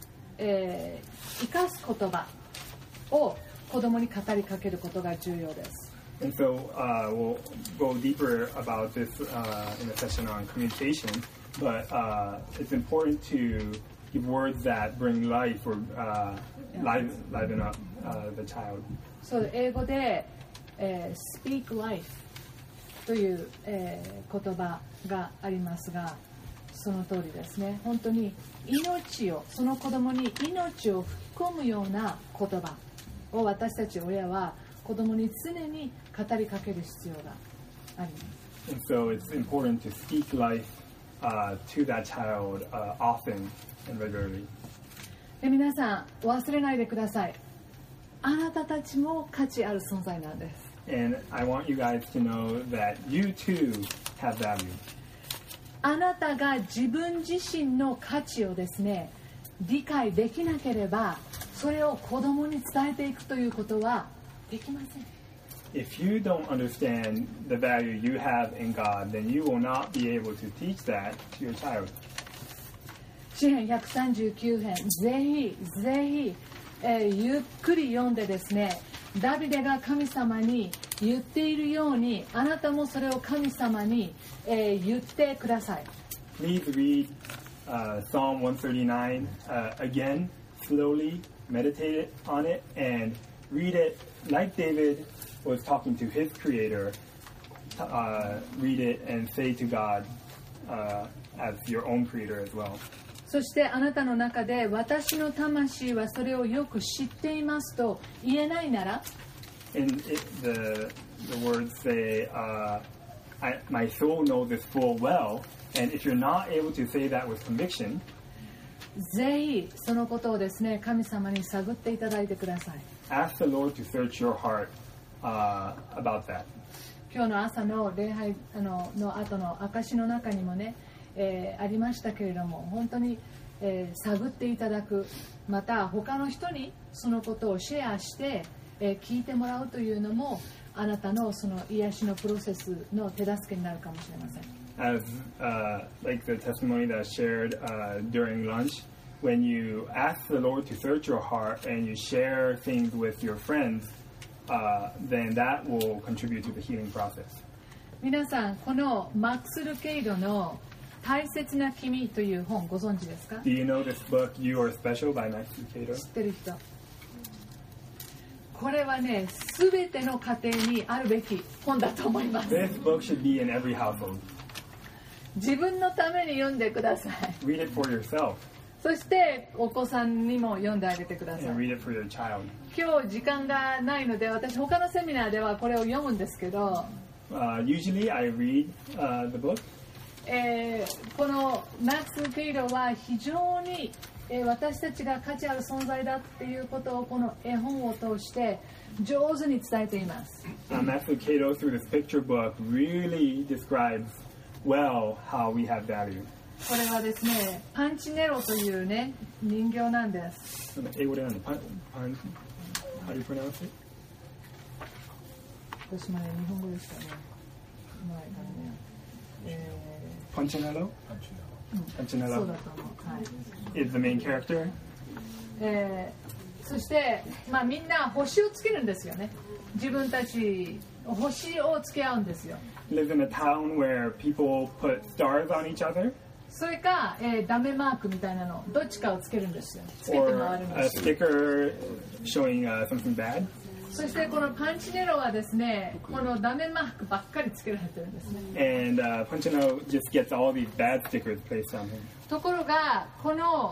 言葉を子供に語りかけることが重要です。 And so we'll go deeper about this in a session on communication, but it's important to give words that bring life or liven up the child. そう英語で、speak life という、言葉がありますが、その通りですね。本当にその子供に命を吹き込むような言葉を私たち親は子供に常に語りかける必要があります。 And so it's important to speak life to that child often and regularly. で皆さん忘れないでください。あなたたちも価値ある存在なんです。 And I want you guys to know that you too have value. あなたが自分自身の価値をですね、理解できなければ、それを子供に伝えていくということはできません。 If you don't understand the value you have in God, then you will not be able to teach that to your child. 詩編139編、ぜひ、ゆっくり読んでですね、ダビデが神様に言っているように、あなたもそれを神様に、言ってください。 Please read Psalm 139 again, slowly, meditate on it, and read it like David was talking to his creator. Read it and say to God as your own creator as well. そしてあなたの中で私の魂はそれをよく知っていますと言えないなら、 And the words say, my soul knows this full well, and if you're not able to say that with conviction, ぜひそのことをですね、神様に探っていただいてください。 ask the Lord to search your heart about that. 今日の朝の礼拝の後の証の中にもね、ありましたけれども、本当に、探っていただく、また他の人にそのことをシェアして、聞いてもらうというのもあなたのその癒しのプロセスの手助けになるかもしれません。 As like the testimony that I shared during lunch, when you ask the Lord to search your heart and you share things with your friends, then that will contribute to the healing process. 皆さん、このマックス・ルケイドの大切な君という本ご存知ですか？ Do you know this book, You Are Special by Max Lucado? 知ってる人。これはね、すべての家庭にあるべき本だと思います。 This book should be in every household. 自分のために読んでください。 Read it for yourself. そしてお子さんにも読んであげてください。 And read it for your child. 今日時間がないので、私他のセミナーではこれを読むんですけど、 Usually I read the book. このマックス・ルケイドは非常に私たちが価値ある存在だっていうことをこの絵本を通して上手に伝えています。 Max Lucado through this picture book really describes well how we have value. これはですね、パンチネロというね、人形なんです。 英語で何？How do you pronounce it? 私もね、日本語でしかね、ないからね。 Punchinello? Punchinello そうだと思う。はい。 is the main character. そして、みんな星をつけるんですよね。自分たち星をつけ合うんですよ。 Lives in a town where people put stars on each other. それか、ダメマークみたいなのどっちかをつけるんですよ。つけて Or 回るん a ですよ。 sticker showing something bad. そしてこのパンチネロはですね、このダメマークばっかりつけられてるんですね。 And Punchinello just gets all these bad stickers placed on him. ところがこの、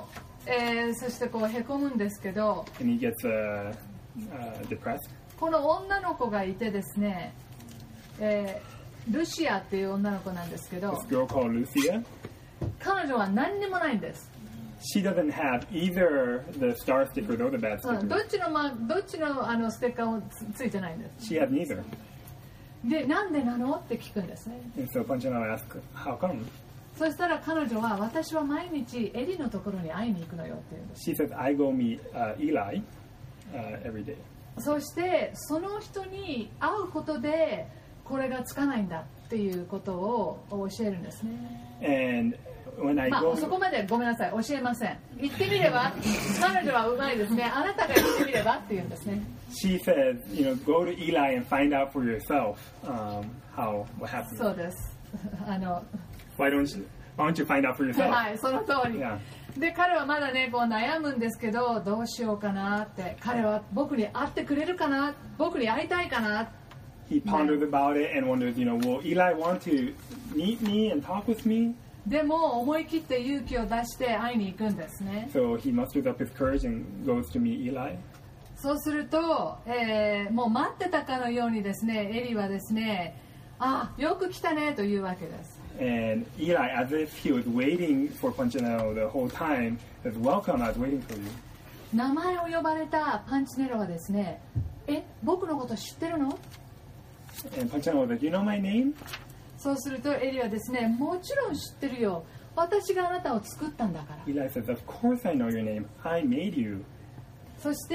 そしてこうへこむんですけど、 and he gets depressed. この女の子がいてですね、ルシアっていう女の子なんですけど、 This girl called Lucia. 彼女は何にもないんです。 She doesn't have either the star stickers or the bad ど stickers. っちのステッカーも ついてないんです。 She has neither. で、なんでなのって聞くんですね。 And so Panchana asks, how come? そしたら彼女は、私は毎日エリのところに会いに行くのよって言うんです。 She says, I go meet Eli every day. そしてその人に会うことでこれがつかないんだっていうことを教えるんですね。 And when I まあ go, そこまでごめんなさい、教えません。言ってみれば、彼女はうまいですね。あなたが言ってみればって言うんですね。 she says, go to Eli and find out for yourself what happened. そうです。 Why don't you find out for yourself? はい、その通り。 Yeah. で、彼はまだね、こう悩むんですけど、どうしようかなって。彼は僕に会ってくれるかな、僕に会いたいかな。 He ponders about it and wonders, will Eli want to meet me and talk with me? でも思い切って勇気を出して会いに行くんですね。 So he musters up his courage and goes to meet Eli. そうすると、もう待ってたかのようにですね、エリはですね、あ、よく来たねというわけです。 And Eli, as if he was waiting for Punchinello the whole time, says, welcome, I was waiting for you. 名前を呼ばれたパンチネロはですね、僕のこと知ってるの？ And Punchinello was like, you know my name? そうするとエリはですね、もちろん知ってるよ。私があなたを作ったんだから。 Eli says, of course I know your name. I made you. そして、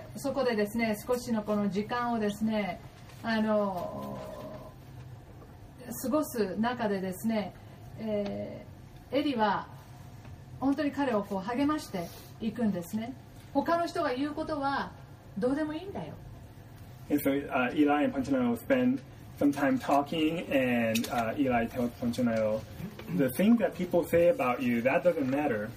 そこでですね、少しのこの時間をですね、過ごす中でですね、エリは本当に彼をこう励ましていくんですね。他の人が言うことはどうでもいいんだよ。 And so Eli and Punchinello spend some time talking, and Eli tells Punchinello, the things that people say about you, that doesn't matter.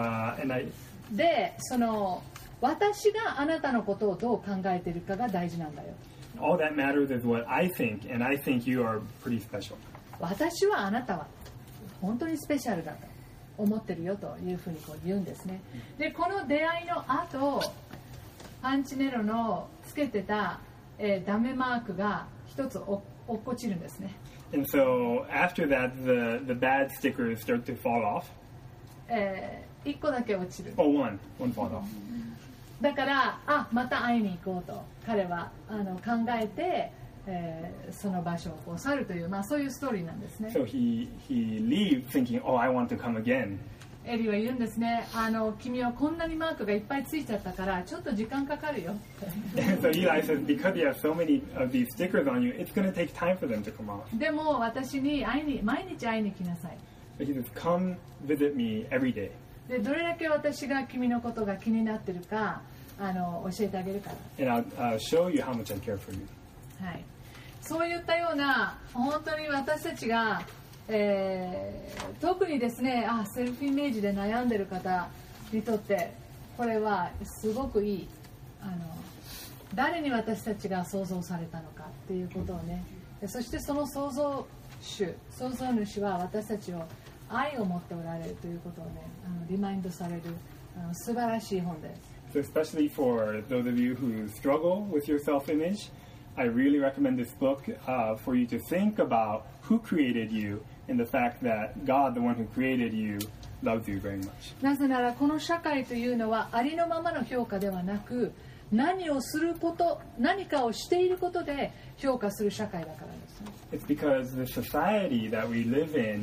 And で、私があなたのことをどう考えているかが大事なんだよ。 all that matters is what I think, and I think you are pretty special. 私はあなたは本当にスペシャルだと思ってるよというふうにこう言うんですね。で、この出会いの後、パンチネロのつけてた、ダメマークが一つ落っこちるんですね。 And so after that, the bad stickers start to fall off. 一個だけ落ちる。 Oh, one fall off. だからまた会いに行こうと彼は考えて、その場所をこう去るという、そういうストーリーなんですね。 So he leaves thinking, oh, I want to come again. エリは言うんですね、君はこんなにマークがいっぱいついちゃったからちょっと時間かかるよ。 And so Eli says, because you have so many of these stickers on you, it's going to take time for them to come off. でも私に毎日会いに来なさい。 But he says, come visit me every day. でどれだけ私が君のことが気になってるか教えてあげるから。 And I'll show you how much I care for you. はい、そういったような本当に私たちが、特にですねセルフイメージで悩んでる方にとってこれはすごくいい誰に私たちが創造されたのかっていうことをね、そしてその創造主は私たちを愛を持っておられるということをねリマインドされる素晴らしい本です。 So especially for those of you who struggle with your self-image, I really recommend this book for you to think about who created you and the fact that God, the one who created you, loves you very much. なぜならこの社会というのはありのままの評価ではなく何をすること何かをしていることで評価する社会だからです。 It's because the society that we live in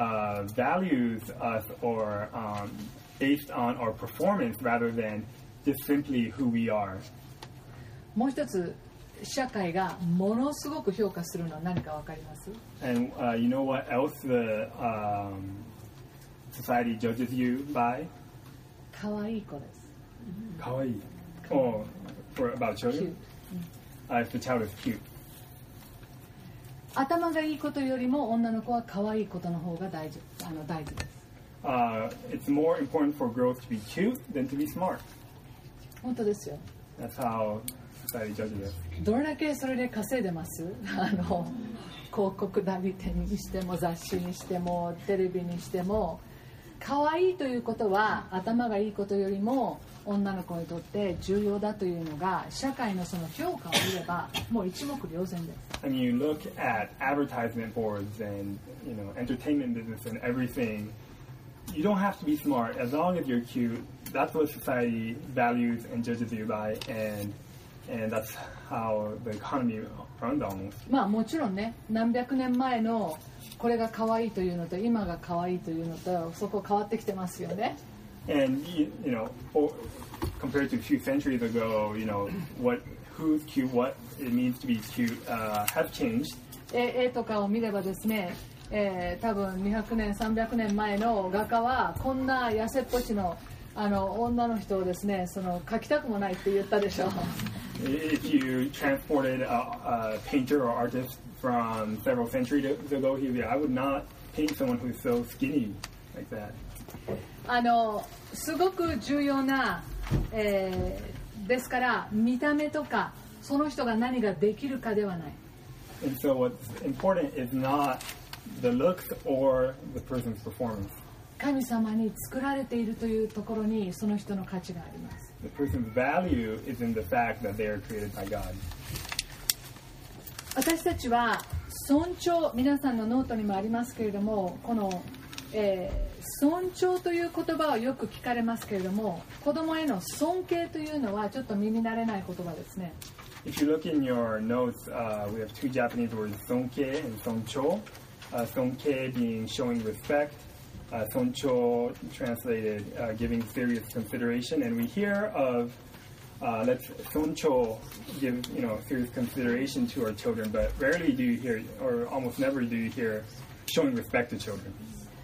values us or based on our performance rather than just simply who we are. もう一つ社会がものすごく評価するのは何か分かります？ And you know what else the society judges you by? 可愛い子です。 Kawaii. Oh, for about children? Cute. If the child is cute. 頭がいいことよりも女の子は可愛いことの方が大事です。 It's more important for girls to be cute than to be smart. 本当ですよ。 That's how society judges us. どれだけそれで稼いでます？広告代理店にしても雑誌にしてもテレビにしても可愛いということは頭がいいことよりも女の子にとって重要だというのが社会のその評価を見ればもう一目瞭然です。 And you look at advertisement boards and entertainment business and everything. You don't have to be smart as long as you're cute. That's what society values and judges you by, and that's how the economy runs almost. まあもちろんね、何百年前のこれが可愛いというのと今が可愛いというのとそこ変わってきてますよね。 And compared to a few centuries ago, who's cute, what it means to be cute, have changed. 絵とかを見ればですね、多分200年300年前の画家はこんな痩せっぽちの女の人をですね、描きたくもないって言ったでしょう。 If you transported a painter or artist from several centuries ago, he'd be, I would not paint someone who's so skinny like that. すごく重要な、ですから見た目とかその人が何ができるかではない。 And so what's important is not the looks or the person's performance. 神様に作られているというところにその人の価値があります。 The person's value is in the fact that they are created by God. 私たちは尊重、皆さんのノートにもありますけれども、この、尊重という言葉をよく聞かれますけれども、子供への尊敬というのはちょっと耳慣れない言葉ですね。 If you look in your notes, we have two Japanese words, sonke and soncho. Sonke being showing respect, soncho translated giving serious consideration. And we hear of let's soncho give serious consideration to our children, but rarely do you hear, or almost never do you hear, showing respect to children.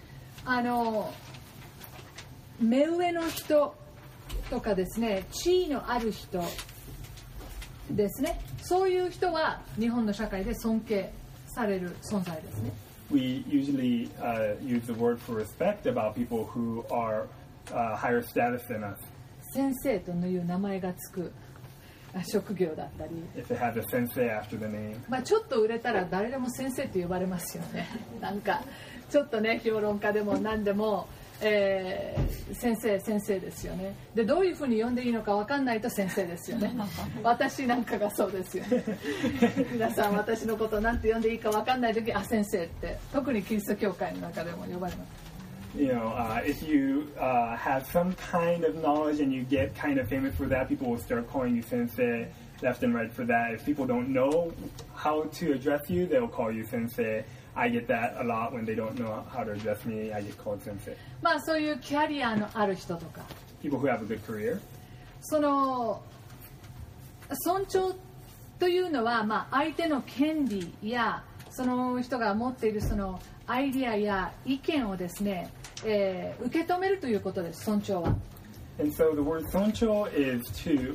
目上の人とかですね、地位のある人ですね、そういう人は日本の社会で尊敬される存在ですね。 We usually use the word for respect about people who are higher status than us. 先生という名前がつく職業だったり、 If it has a sensei after the name. まあちょっと売れたら誰でも先生と呼ばれますよね。なんかちょっとね、評論家でも何でも、先生ですよね。でどういうふうに呼んでいいのか分かんないと先生ですよね。私なんかがそうですよね。皆さん私のことなんて呼んでいいか分かんない時、先生って特にキリスト教会の中でも呼ばれます。 If you have some kind of knowledge and you get kind of famous for that, people will start calling you sensei left and right for that. If people don't know how to address you, they'll call you sensei. I get that a lot when they don't know how to address me. I get called sensei. まあそういうキャリアのある人とか、 People who have a good career. その尊重というのは、まあ相手の権利やその人が持っているそのアイディアや意見をですね、受け止めるということです。尊重は。 And so the word soncho is to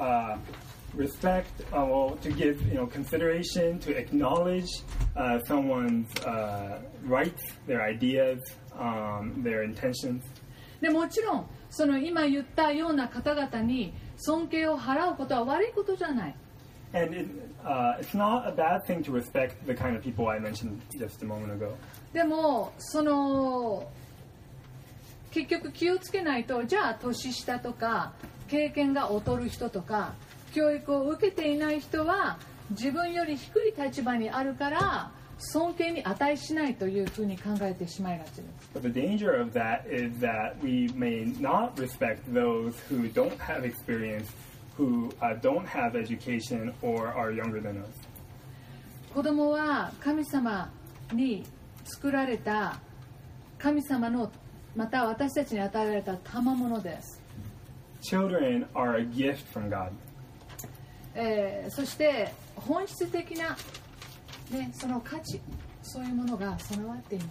respect, to give consideration, to acknowledge someone's rights, their ideas, their intentions. でもちろんその今言ったような方々に尊敬を払うことは悪いことじゃない。 And it's not a bad thing to respect the kind of people I mentioned just a moment ago. でもその結局気をつけないと、じゃあ年下とか経験が劣る人とか教育を受けていない人は自分より低い立場にあるから尊敬に値しないというふうに考えてしまいがちです。 But the danger of that is that we may not respect those who don't have experience, who don't have education or are younger than us. 子供は神様に作られた神様のまた私たちに与えられた賜物です。 Children are a gift from God. そして本質的な、ね、その価値、そういうものが備わっています。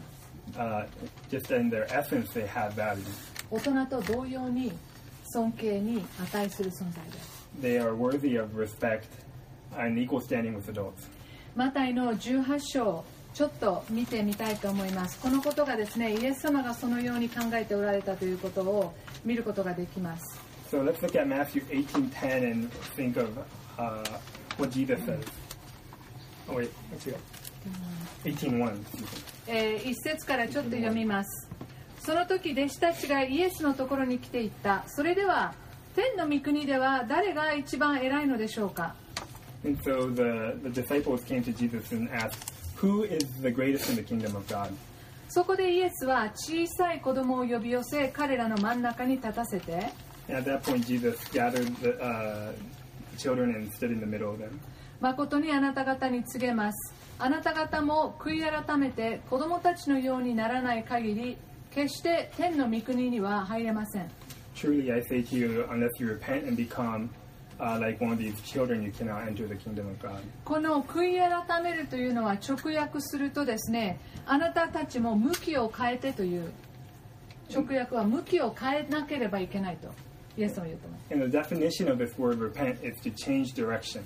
Just in their essence, they have value. 大人と同様に尊敬に値する存在です。 They are worthy of respect and equal standing with adults. マタイの18章ちょっと見てみたいと思います。このことがですね、イエス様がそのように考えておられたということを見ることができます。 So let's look at Matthew 18:10 and think of what Jesus says. Oh wait, let's go. 18:1. 一節からちょっと読みます。 その時弟子たちがイエスのところに来ていった。それでは天の御国では誰が一番偉いのでしょうか。 And so the disciples came to Jesus and asked, "Who is the greatest in the kingdom of God?" そこでイエスは小さい子供を呼び寄せ、彼らの真ん中に立たせて、 And at that point, Jesus gathered the children and stood in the middle of them. 誠にあなた方に告げます。あなた方も悔い改めて子供たちのようにならない限り、決して天の御国には入れません。 Truly, I say to you, unless you repent and become like one of these children, you cannot enter the kingdom of God. この悔い改めるというのは直訳するとですね、あなたたちも向きを変えてという直訳は向きを変えなければいけないとイエスも言ってます。 And the definition of this word repent is to change direction.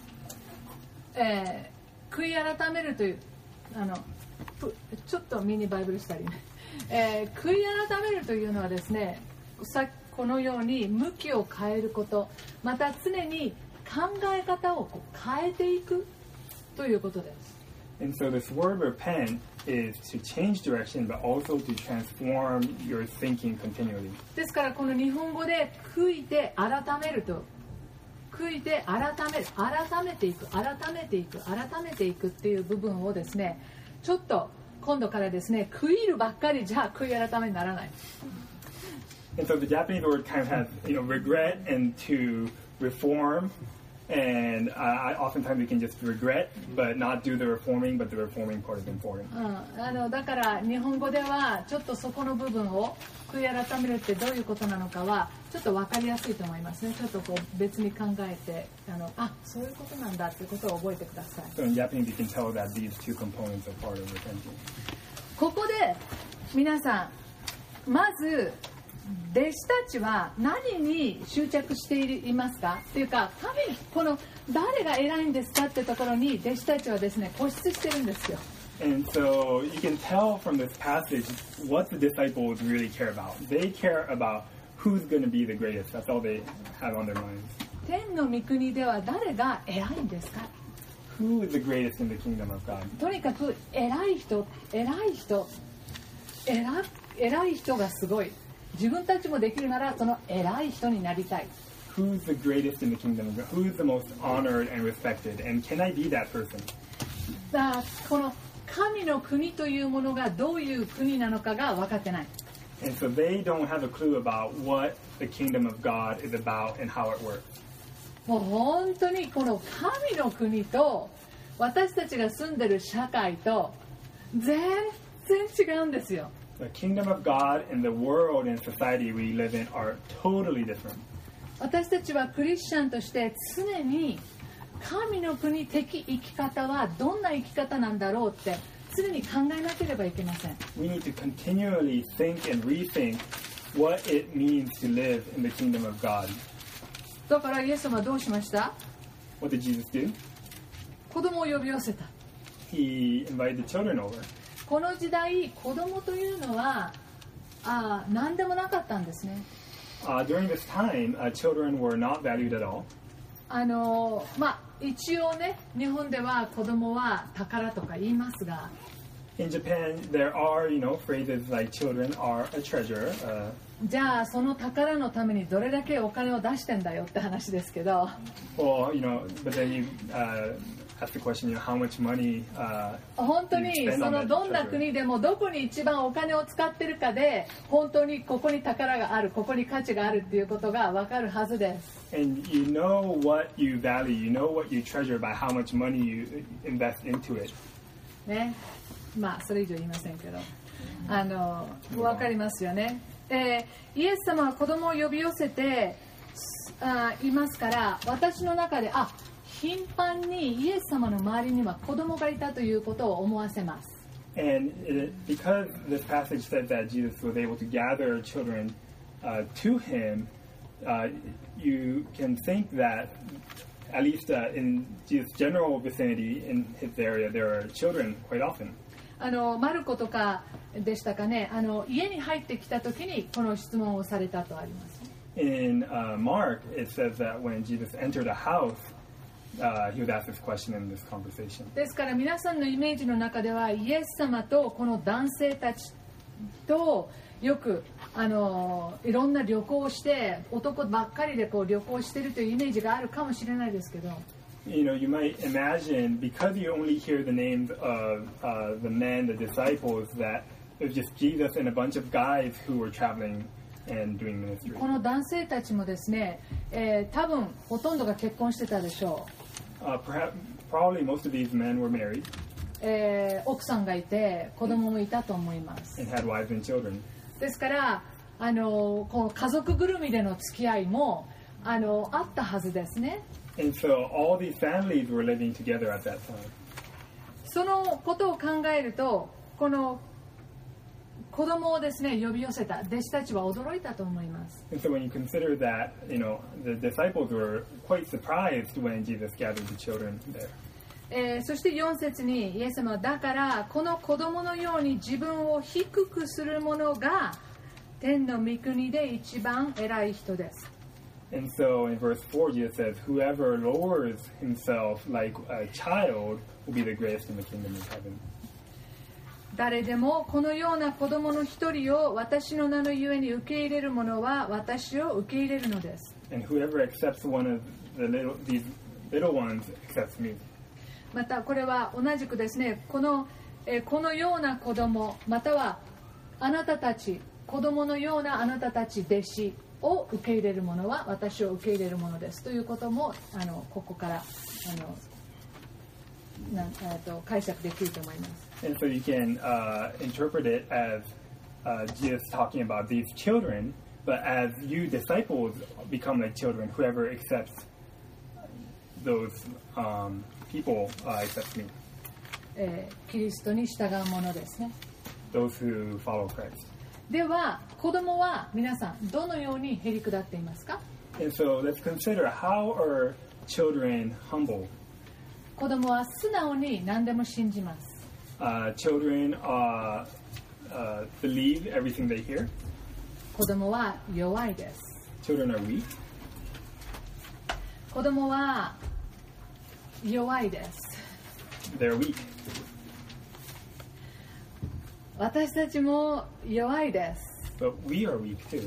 悔い改めるというちょっとミニバイブルしたりね、悔い改めるというのはですね、このように向きを変えること、また常に考え方を変えていくということです。 And so this word repent is to change direction, but also to transform your thinking continually. ですからこの日本語で悔いて改めると、悔いて改める、改めていく、改めていく、改めていくっていう部分をですね、ちょっと今度からですね、悔いるばっかりじゃ悔い改めにならない。 And so the Japanese word kind of has, regret and to reform. And oftentimes we can just regret, but not do the reforming, but the reforming part is important. だから日本語ではちょっとそこの部分を悔い改めるってどういうことなのかはちょっと分かりやすいと思いますね。ちょっとこう別に考えてそういうことなんだっていうことを覚えてください。 So in Japanese you can tell that these two components are part of repenting. ここで皆さんまず弟子たちは何に執着していますかっていうか、この誰が偉いんですかってところに弟子たちはですね固執してるんですよ。 And so you can tell from this passage what the disciples really care about. They care about who's going to be the greatest. That's all they have on their minds. 天の御国では誰が偉いんですか。 Who is the greatest in the kingdom of God? とにかく偉い人がすごい。自分たちもできるならその偉い人になりたい。 Who's the greatest in the kingdom of God? Who's the most honored and respected? And can I be that person? この神の国というものがどういう国なのかが分かってない。 And so they don't have a clue about what the kingdom of God is about and how it works. もう本当にこの神の国と私たちが住んでる社会と全然違うんですよ。 The kingdom of God and the world and society we live in are totally different. 私たちはクリスチャンとして常に神の国的生き方はどんな生き方なんだろうって常に考えなければいけません。 We need to continually think and rethink what it means to live in the kingdom of God. だからイエス様はどうしました？ What did Jesus do? 子供を呼び寄せた。 He invited the children over. この時代子供というのは何でもなかったんですね。 During this time, children were not valued at all. 一応ね、日本では子供は宝とか言いますが、 In Japan, there are, phrases like children are a treasure. じゃあその宝のためにどれだけお金を出してんだよって話ですけど、 Well, but then you ask the question, how much money 本当に you spend そ on の that どんな treasure. 国でもどこに一番お金を使ってるかで本当にここに宝がある、ここに価値があるっていうことが分かるはずです。 And you know what you value, you know what you treasure by how much money you invest into it. ね、それ以上言いませんけど、分かりますよね。イエス様は子供を呼び寄せていますから、私の中で頻繁にイエス様の周りには子供がいたということを思わせます。 And because this passage says that Jesus was able to gather children to him, you can think that at least in Jesus' general vicinity in his area, there are children quite often. マルコとかでしたかね、家に入ってきた時にこの質問をされたとあります。 In Mark, it says that when Jesus entered a house, he was asked this question in this conversation. ですから皆さんのイメージの中ではイエス様とこの男性たちとよくいろんな旅行をして男ばっかりでこう旅行してるというイメージがあるかもしれないですけど、 You know, you might imagine, because you only hear the names of the men, the disciples, that it was just Jesus and a bunch of guys who were traveling and doing ministry. この男性たちもですね、多分ほとんどが結婚してたでしょ Probably most of these men were married う。奥さんがいて子供もいたと思います。 and had wives and children. ですからこの家族ぐるみでの付き合いもあったはずですね。 And so all these families were living together at that time. そのことを考えると、この子供をですね呼び寄せた弟子たちは驚いたと思います。 And so when you consider that, you know, the disciples were quite surprised when Jesus gathered the children there. そして4節にイエス様はだからこの子供のように自分を低くする者が天の御国で一番偉い人です。 And so in verse 4, Jesus says, whoever lowers himself like a child will be the greatest in the kingdom of heaven. 誰でもこのような子供の一人を私の名のゆえに受け入れる者は私を受け入れるのです。 And whoever accepts one of these little ones accepts me. またこれは同じくですね、このような子供またはあなたたち子供のようなあなたたち弟子を受け入れる者は私を受け入れる者ですということもここから解釈できると思います。 And so you can interpret it as Jesus talking about these children, but as you disciples become like children, whoever accepts those people accepts me. キリストに従う者ですね。 Those who follow Christ. では子供は皆さんどのようにへりくだっていますか？ And so let's consider, how are children humble? 子供は素直に何でも信じます。 Children believe everything they hear. 子供は弱いです。 Children are weak. 子供は弱いです。 They're weak. 私たちも弱いです。 But we are weak too.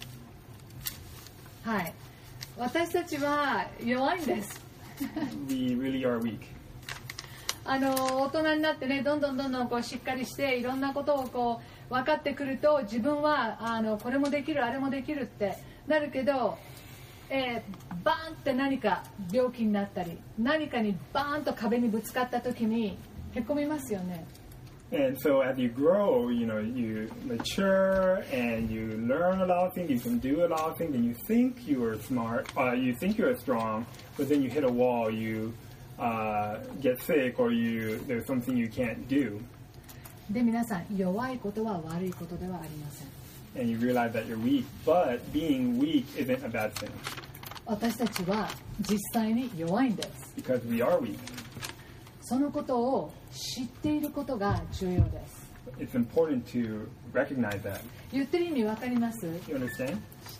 はい。私たちは弱いんです。 We really are weak. 大人になってね、どんどんこうしっかりしていろんなことをこう分かってくると、自分はこれもできるあれもできるってなるけど、バーンって何か病気になったり何かにバーンと壁にぶつかった時にへこみますよね。 And so as you grow, you know, you mature and you learn a lot of things, you can do a lot of things, and you think you are smart, you think you are strong, but then you hit a wall, you get sick, or there's something you can't do. で皆さん、弱いことは悪いことではありません。 And you realize that you're weak, but being weak isn't a bad thing. 私たちは実際に弱いんです。 Because we are weak. そのことを知っていることが重要です。 It's important to recognize that. 言ってる意味わかります？ You understand?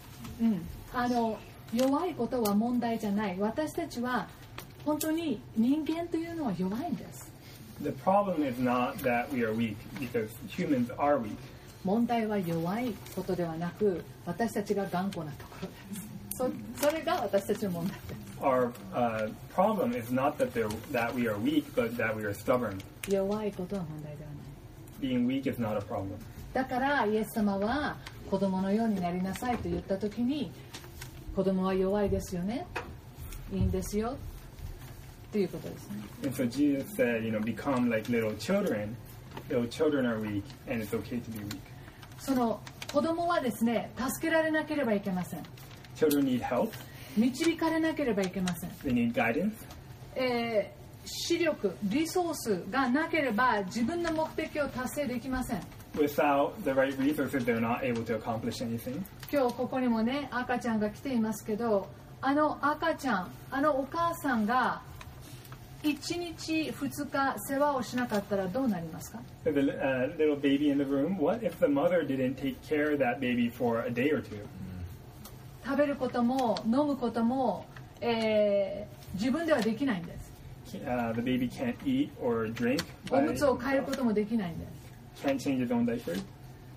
弱いことは問題じゃない。私たちは本当に人間というのは弱いんです。 The problem is not that we are weak, because humans are weak. 問題は弱いことではなく、私たちが頑固なところです。それが私たちの問題です。 Our problem is not that we are weak, but that we are stubborn. 弱いことは問題ではない。 Being weak is not a problem. だからイエス様は子供のようになりなさいと言ったときに、子供は弱いですよね、いいんですよということですね。 And so Jesus said, you know, become like little children. Little children are weak, and it's okay to be weak. その子供はですね、助けられなければいけません。 Children need help. 導かれなければいけません。 They need guidance. 視力、リソースがなければ自分の目的を達成できません。 Without the right resources, they're not able to accomplish anything. 今日ここにもね、赤ちゃんが来ていますけど、赤ちゃん、お母さんが1日2日世話をしなかったらどうなりますか？ There's a little baby in the room. What if the mother didn't take care of that baby for a day or two? 食べることも飲むことも、自分ではできないんです。 The baby can't eat or drink. おむつを変えることもできないんです。 Can't change his own diaper.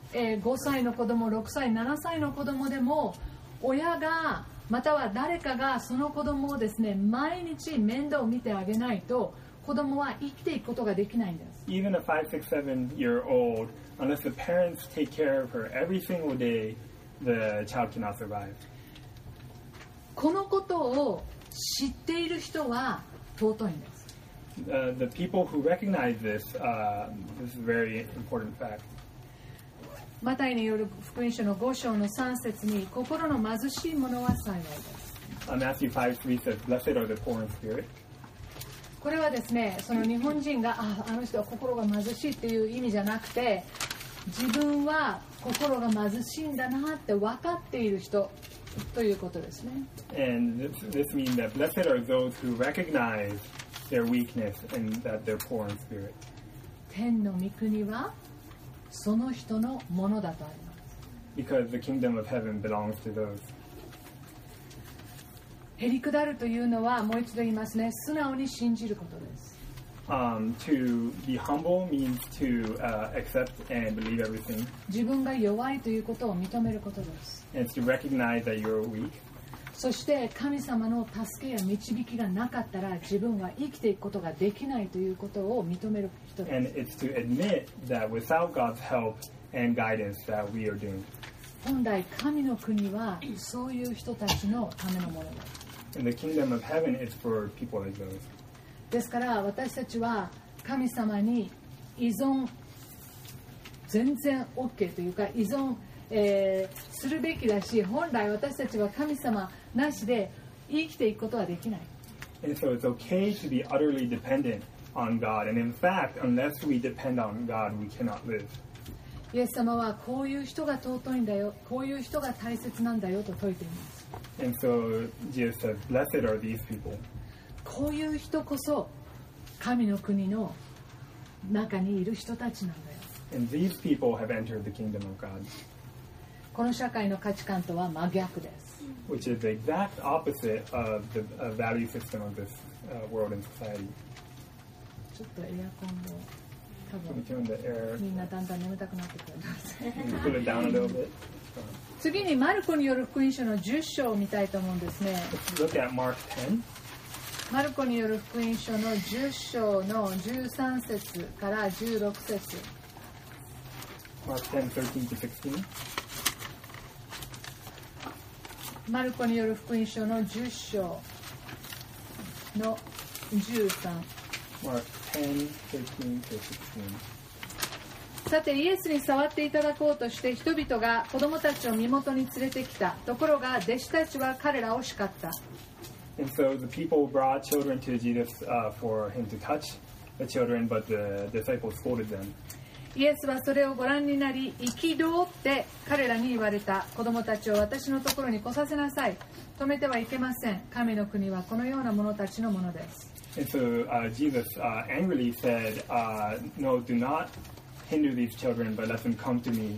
5歳の子供、6歳、7歳の子供でも親がまたは誰かがその子供をですね、毎日面倒を見てあげないと子供は生きていくことができないんです。 Even a 5, 6, 7-year-old, unless the parents take care of her every single day, the child cannot survive. このことを知っている人は尊いんです。 The people who recognize this, this is a very important fact. マタイによる福音書の5章の3節に、心の貧しい者は幸いです。 Matthew 5:3 says, "Blessed are the poor in spirit." これはですね、その日本人があの人は心が貧しいっていう意味じゃなくて、自分は心が貧しいんだなって分かっている人ということですね。 And this means that blessed are those who recognize their weakness and that they're poor in spirit. 天の御国はその人のものだとあります。 Because the kingdom of heaven belongs to those. へりくだるというのは、もう一度言いますね、素直に信じることです。 To be humble means to accept and believe everything. 自分が弱いということを認めることです。 And it's to recognize that you're weak. そして神様の助けや導きがなかったら自分は生きていくことができないということを認める人です。 And it's to admit that without God's help and guidance that we are doomed. 本来神の国はそういう人たちのためのものです。 And the kingdom of heaven is for people like those. ですから私たちは神様に依存全然 OK というか依存、するべきだし、本来私たちは神様なしで生きていくことはできない。 And so it's okay to be utterly dependent on God. And in fact, unless we depend on God, we cannot live. イエス様はこういう人が尊いんだよ、こういう人が大切なんだよと説いています。 And so Jesus says, "Blessed are these people." こういう人こそ神の国の中にいる人たちなんだよ。 And these people have entered the kingdom of God. この社会の価値観とは真逆です。 Which is the exact opposite of the value system of this world and society. ちょっとエアコンを多 Can we 分 turn the air? みんなだんだん眠たくなってくるんです。 Can we pull it down a little bit? 次にマルコによる福音書の10章を見たいと思うんですね。 Let's look at Mark 10. マルコによる福音書の10章の13節から16節。 Mark 10, 13 to 16. マルコによる福音書の10章の13。 Mark 10, 13 to 16. さてイエスに触っていただこうとして人々が子供たちを身元に連れてきた。ところが弟子たちは彼らを叱った。 And so the people brought children to Jesus for him to touch the children, but the disciples scolded them. イエスはそれをご覧になり、憤って彼らに言われた。子供たちを私のところに来させなさい。止めてはいけません。神の国はこのような者たちのものです。 And so Jesus angrily said, "No, do not hinder these children, but let them come to me."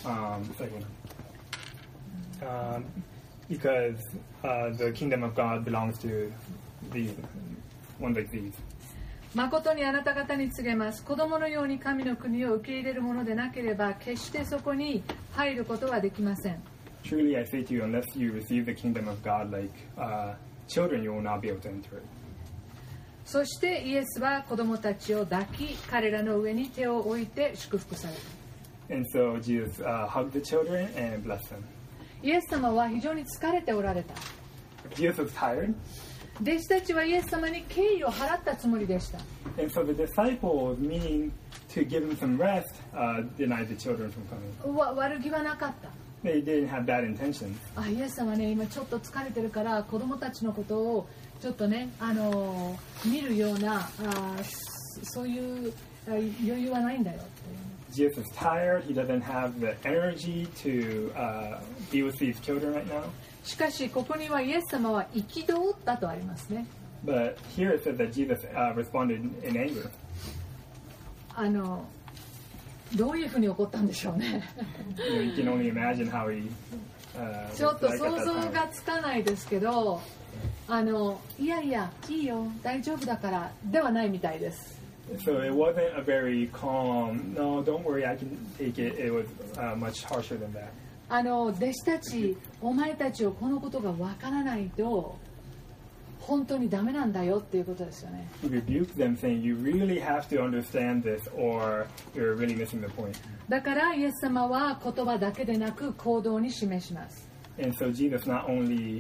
Because the kingdom of God belongs to these ones like these. 誠にあなた方に告げます。子供のように神の国を受け入れるものでなければ、決してそこに入ることはできません。 Truly I say to you, unless you receive the kingdom of God like children, you will not be able to enter it. そしてイエスは子供たちを抱き、彼らの上に手を置いて祝福された。 And so Jesus hugged the children and blessed them. イエス様は非常に疲れておられた。 Jesus was tired. 弟子たちはイエス様に敬意を払ったつもりでした。 And so the disciples, meaning to give them some rest, denied the children from coming. 悪気はなかった。 They didn't have bad intentions. イエス様ね、今ちょっと疲れてるから子供たちのことをちょっとね、見るようなそういう余裕はないんだよって。 Jesus is tired. He doesn't have the energy to be with these children right now. しかしここにはイエス様は憤ったとありますね。 But here it says that Jesus responded in anger. どういうふうに怒ったんでしょうね。 You can only imagine how he ちょっと was like 想 at that 像 time. がつかないですけど、いやいやいいよ大丈夫だからではないみたいです。 So it wasn't a very calm, no, don't worry, I can take it. It was much harsher than that. 弟子たち、お前たちをこのことがわからないと本当にダメなんだよっていうことですよね。 He rebuked them, saying, "You really have to understand this, or you're really missing the point." だからイエス様は言葉だけでなく行動に示します。 And so Jesus not only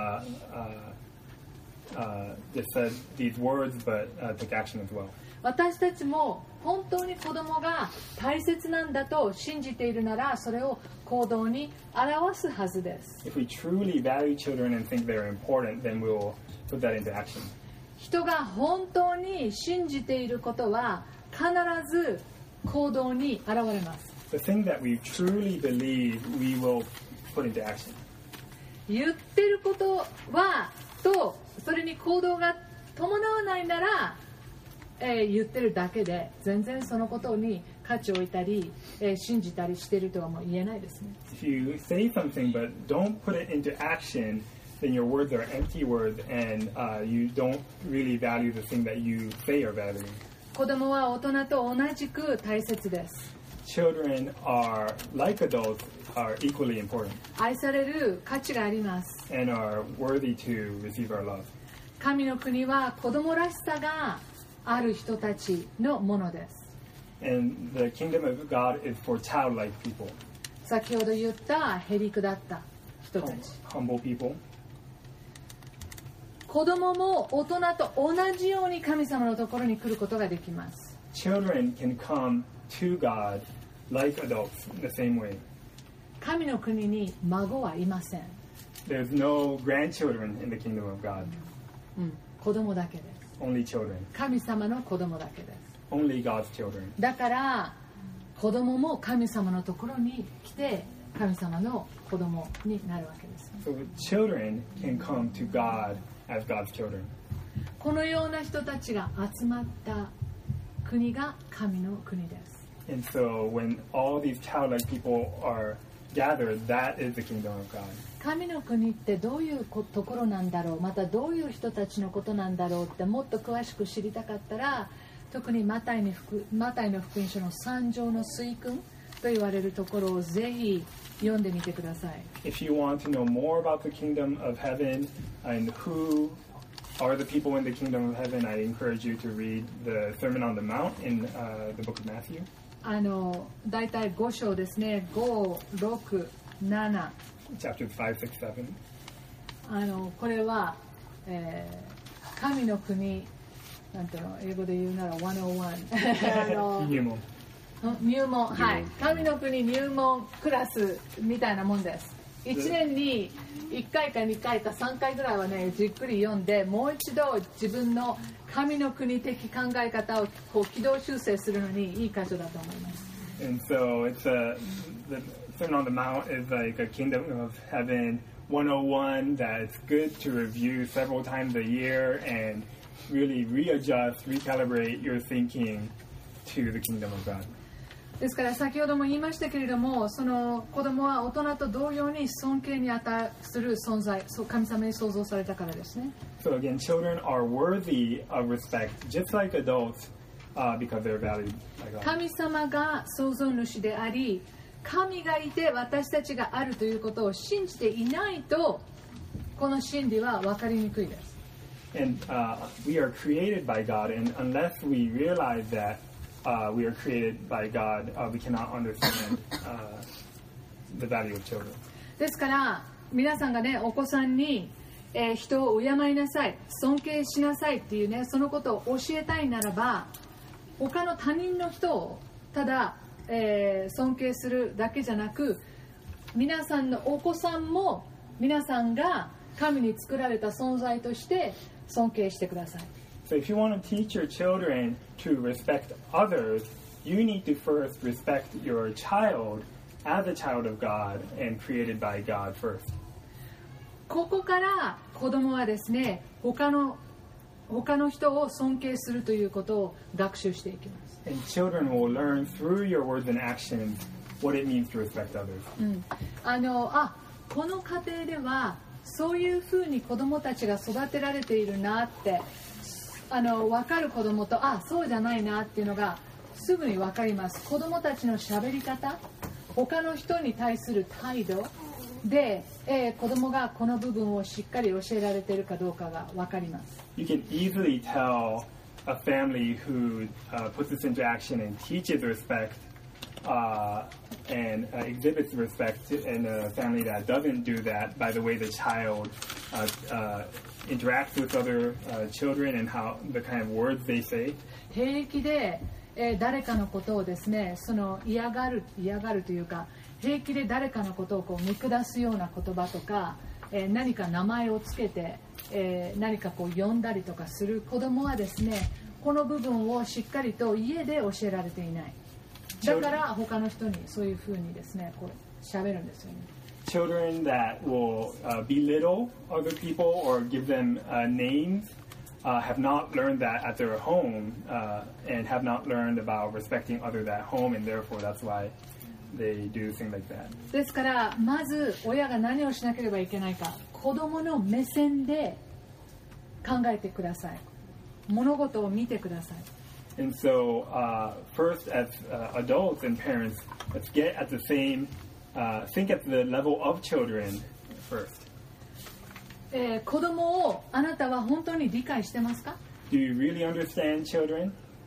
just said these words, but took action as well. 私たちも本当に子供が大切なんだと信じているなら、それを行動に表すはずです。 If we truly value children and think they're important, then we'll put that into action. 人が本当に信じていることは必ず行動に現れます。 The thing that we truly believe, we will put into action. 言ってることはとそれに行動が伴わないなら、言ってるだけで全然そのことに価値を置いたり、信じたりしているとはもう言えないですね。 If you say something but don't put it into action, then your words are empty words, and you don't really value the thing that you say you're valuing. 子供は大人と同じく大切です。 Children are, like adults, are equally important 愛される価値があります。 and are worthy to receive our love. 神の国は子供らしさがある人たちのものです。 And the kingdom of God is for childlike people, 先ほど言ったへりくだった人たち。 humble people. 子供も大人と同じように神様のところに来ることができます。 Children can come to God like adults in the same way. 神の国に孫はいません。 There's no grandchildren in the kingdom of God, 子供だけです。 only children, 神様の子供だけです。 only God's children. だから子供も神様のところに来て神様の子供になるわけです。 So children can come to God as God's children. このような人たちが集まった国が神の国です。 And so when all these childlike people are gathered, that is the kingdom of God. 神の国ってどういうところなんだろう、またどういう人たちのことなんだろうってもっと詳しく知りたかったら、特にマタイの福音書の3章の水訓と言われるところをぜひ読んでみてください。 If you want to know more about the kingdom of heaven and who are the people in the kingdom of heaven, I encourage you to read the Sermon on the Mount in the book of Matthew. だいたい5章ですね。5、6、7。 Chapters 5, 6, 7. これは、神の国なんていうの英語で言うなら101入門、はい、神の国入門クラスみたいなもんです。1年に1回か2回か3回ぐらいはねじっくり読んで、もう一度自分の神の国的考え方をこう軌道修正するのにいい箇所だと思います。 And so it's the Sermon on the Mount is like a kingdom of heaven 101 that it's good to review several times a year and really readjust, recalibrate your thinking to the kingdom of God. ですから先ほども言いましたけれども、その子供は大人と同様に尊敬に値する存在、神様に創造されたからですね。 So again, children are worthy of respect, just like adults, because they're valued by God. 神様が創造主であり、神がいて私たちがあるということを信じていないと、この真理は分かりにくいです。 And we are created by God, and unless we realize that we are created by God, we cannot understand the value of children. ですから皆さんがね、お子さんに、人を敬いなさい、尊敬しなさいっていうね、そのことを教えたいならば、他の他人の人をただ、尊敬するだけじゃなく、皆さんのお子さんも皆さんが神に作られた存在として尊敬してください。 So if you want to teach your children to respect others, you need to first respect your child as a child of God and created by God first. ここから子供はですね、他の人を尊敬するということを学習していきます。 And children will learn through your words and actions what it means to respect others. この家庭ではそういうふうに子供たちが育てられているなって、 分かる子供とそうじゃないなっていうのがすぐに分かります。子供たちの喋り方、他の人に対する態度で、子供がこの部分をしっかり教えられているかどうかが分かります。 You can easily tell a family who puts this into action and teaches respect and exhibits respect in a family that doesn't do that by the way the child interacts with other children and how the kind of words they say. 平気で、誰かのことをですね、その嫌がるというか、平気で誰かのことをこう見下すような言葉とか、何か名前をつけて、何かこう呼んだりとかする子供はですね、この部分をしっかりと家で教えられていない。だから他の人にそういうふうにですね、こう喋るんですよね。 Children that will belittle other people or give them names have not learned that at their home and have not learned about respecting others at home, and therefore that's why they do things like that. ですからまず親が何をしなければいけないか、子供の目線で考えてください。物事を見てください。 And so, first, as adults and parents, let's get at the same, think at the level of children first. 子供をあなたは本当に理解してますか？ Do you really understand children?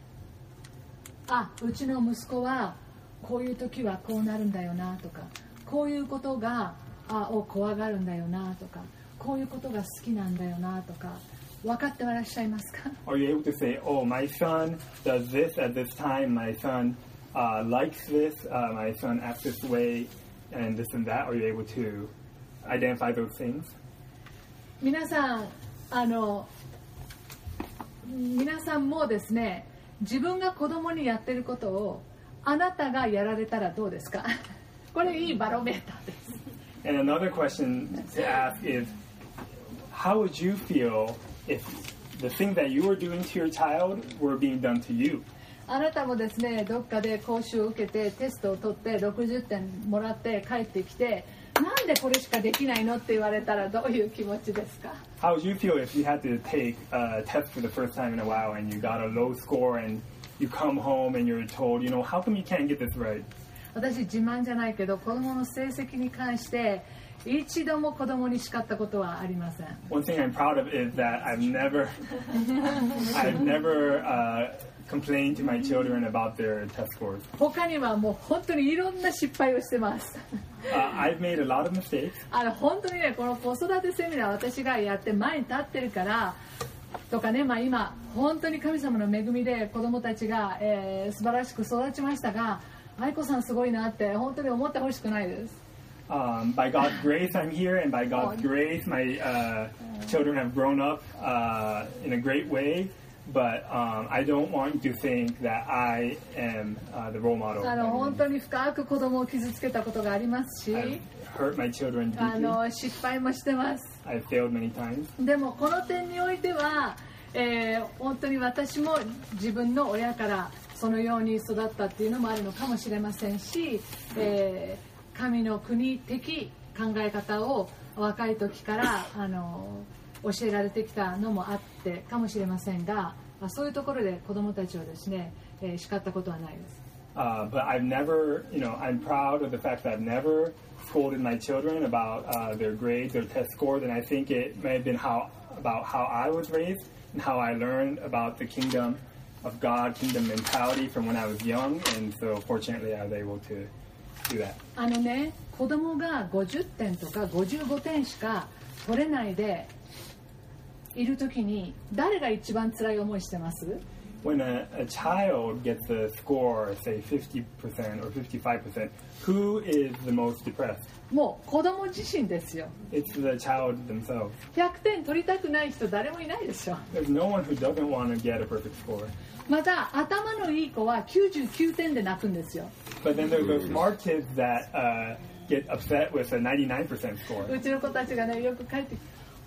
うちの息子はこういう時はこうなるんだよなとか、こういうことを怖がるんだよなとか、こういうことが好きなんだよなとか。分かってはいらっしゃいますか？ Are you able to say, oh, my son does this at this time, my son likes this, my son acts this way, and this and that? Are you able to identify those things? 皆さんもですね、自分が子供にやってることをあなたがやられたらどうですか？これいいバロメーターです。 And another question to ask is, how would you feel if the things that you were doing to your child were being done to you? あなたもですね、どっかで講習を受けてテストを取って60点もらって帰ってきて、なんでこれしかできないのって言われたらどういう気持ちですか？ How would you feel if you had to take a test for the first time in a while and you got a low score and you come home and you're told, you know, how come you can't get this right? 私自慢じゃないけど、子供の成績に関して一度も子供に叱ったことはありません。 One thing I'm proud of is that I've never complained to my children about their test scores. 他にはもう本当にいろんな失敗をしてます。 I've made a lot of mistakes. 本当にね、この子育てセミナー私がやって前に立ってるからとかね、今本当に神様の恵みで子供たちが、素晴らしく育ちましたが、愛子さんすごいなって本当に思ってほしくないです。 By God's grace, I'm here, and by God's grace, my children have grown up in a great way. But I don't want you to think that I am the role model. 本当に深く子供を傷つけたことがありますし、 I've hurt my children deeply. 失敗もしてます。 I've failed many times. でもこの点においては、本当に私も自分の親からそのように育ったっていうのもあるのかもしれませんし、神の国的考え方を若い時から教えられてきたのもあってかもしれませんが、そういうところで子どもたちをですね、叱ったことはないです。 But I've never, I'm proud of the fact that I've never scolded my children about their grades, their test scores, and I think it may have been about how I was raised and how I learned about the kingdom of God, kingdom mentality from when I was young, and so fortunately I was able to do that. 子供が50点とか55点しか取れないでいるときに誰が一番辛い思いしてます？ When a child gets a score, say 50% or 55%, who is the most depressed? もう子供自身ですよ。 It's the child themselves. 100点取りたくない人誰もいないでしょ。 There's no one who doesn't want to get a perfect score. また頭のいい子は99点で泣くんですよ。 But then there's those smart kids that get upset with a 99% score. うちの子たちがね、よく帰ってきて、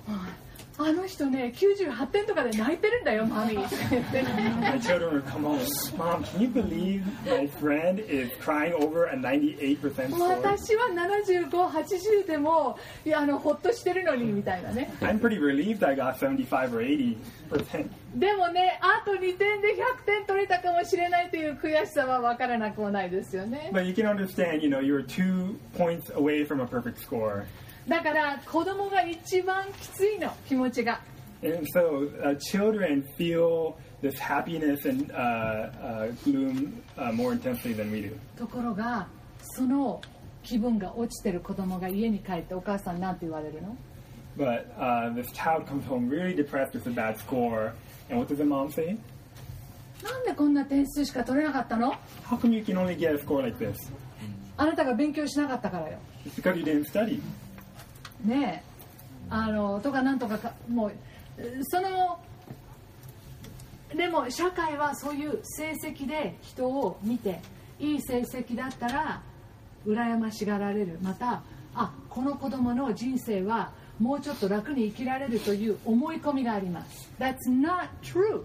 あの人ね98点とかで泣いてるんだよマミーって言ってね My children would come home. Mom, can you believe my friend is crying over a 98% score? 私は75、80でもほっとしてるのにみたいなね I'm pretty relieved I got 75 or 80%. でもねあと2点で100点取れたかもしれないという悔しさは分からなくもないですよね But you can understand, you know, you were 2 points away from a perfect score. だから子供が一番きついの気持ちが And so children feel this happiness and gloom more intensely than we do. ところがその気分が落ちてる子供が家に帰ってお母さんなんて言われるの But this child comes home really depressed with a bad score. And what does the mom say? なんでこんな点数しか取れなかったの How come you can only get a score like this? あなたが勉強しなかったからよ It's because you didn't study. ねえとかなんとかもうそのでも社会はそういう成績で人を見ていい成績だったら羨ましがられるまたこの子供の人生はもうちょっと楽に生きられるという思い込みがあります That's not true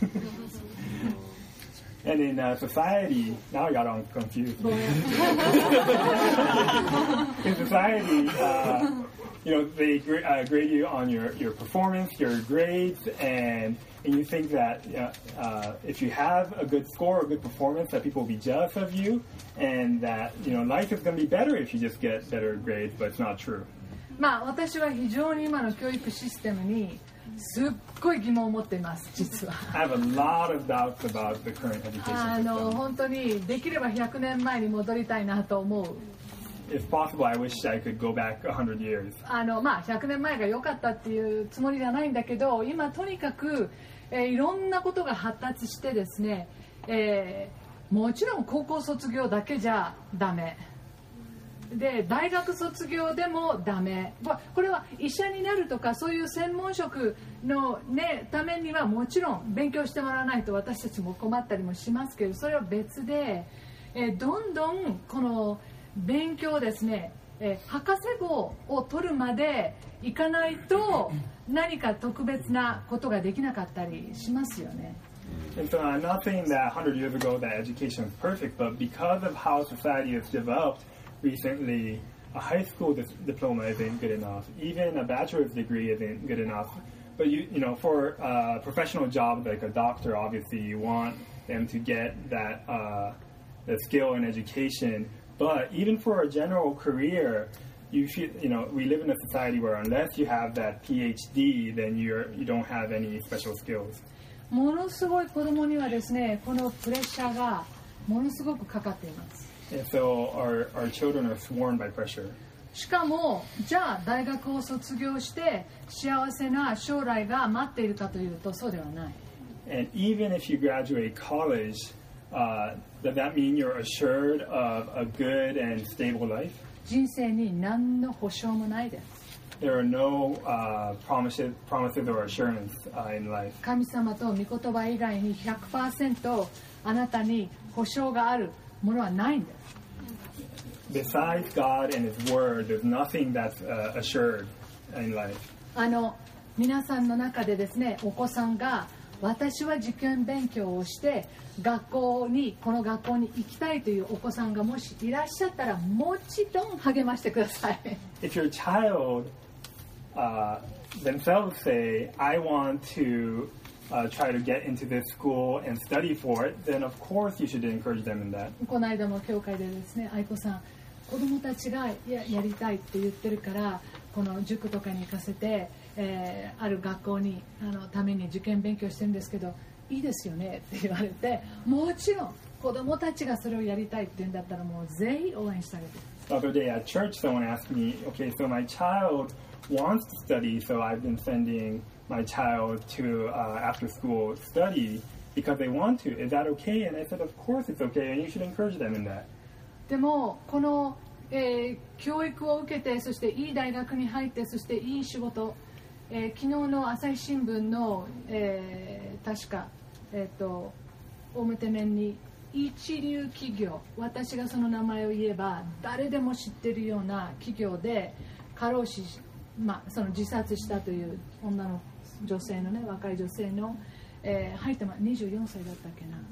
And in society, now I got all confused. In society, you know, they grade you on your performance, your grades, and you think that if you have a good score or good performance, that people will be jealous of you, and that life is going to be better if you just get better grades, but it's not true. まあ私は非常に今の教育システムにすっごい疑問を持っています実は I have a lot of doubts about the current education system. 本当にできれば100年前に戻りたいなと思う If possible, I wish I could go back 100 years. まあ100年前が良かったっていうつもりじゃないんだけど今とにかく、いろんなことが発達してですね、もちろん高校卒業だけじゃダメで大学卒業でもダメこれは医者になるとかそういう専門職の、ためにはもちろん勉強してもらわないと私たちも困ったりもしますけどそれは別で、どんどんこの勉強ですね、博士号を取るまでいかないと何か特別なことができなかったりしますよね。 And so I'm not saying that 100 years ago that education is perfect, but because of how society has developed recently, a high school diploma isn't good enough. Even a bachelor's degree isn't good enough. But you know, for a professional job like a doctor, obviously you want them to get that the skill in education. But even for a general career, we live in a society where unless you have that PhD, then you don't have any special skills. ものすごい子供にはですね、このプレッシャーがものすごくかかっています。 And so our children are sworn by pressure. しかもじゃあ大学を卒業して幸せな将来が待っているかというとそうではない。 And even if you graduate college, does that mean you're assured of a good and stable life? 人生に何の保証もないです。 There are no promises or assurance in life. 神様と御言葉以外に 100% あなたに保証があるものはないんです。 Besides God and His Word, there's nothing that's assured in life. 皆さんの中でですね、お子さんが私は受験勉強をしてこの学校に行きたいというお子さんがもしいらっしゃったらもちろん励ましてください。 If your child themselves say, I want to try to get into this school and study for it, then of course you should encourage them in that. この間も教会でですね、愛子さん、子供たちが やりたいって言ってるからこの塾とかに行かせて、ある学校にために受験勉強してるんですけどいいですよねって言われて、もちろん子供たちがそれをやりたいって言うんだったらもうぜひ応援してあげて。 The other day at church, someone asked me, okay, so my child wants to study, so I've been sending my child to after school study because they want to. Is that okay? And I said, of course it's okay, and you should encourage them in that. でもこの、教育を受けてそしていい大学に入ってそしていい仕事、昨日の朝日新聞の、確か、表面に一流企業、私がその名前を言えば誰でも知っているような企業で過労死その自殺したという女性のね、若い女性の、入って24歳だったっけな。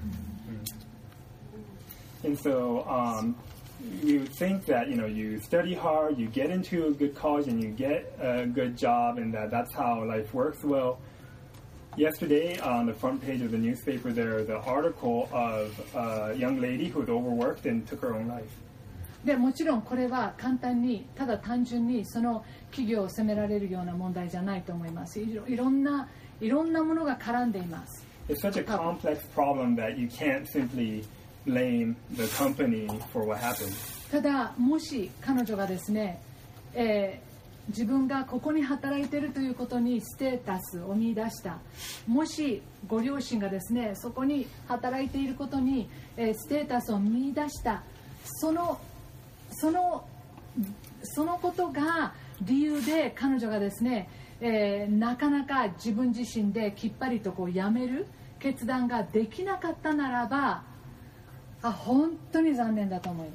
And so you think that you study hard, you get into a good college, and you get a good job, and that's how life works. Well, yesterday on the front page of the newspaper, there was an article of a young lady who was overworked and took her own life. でもちろんこれは簡単にただ単純にその企業を責められるような問題じゃないと思います。いろんなものが絡んでいます。 It's such a complex problem that you can't simply blame the company for what happened. ただもし彼女がですね、自分がここに働いているということにステータスを見出した、もしご両親がですねそこに働いていることに、ステータスを見出した、そのことが理由で彼女がですね、なかなか自分自身できっぱりと辞める決断ができなかったならば、本当に残念だと思います。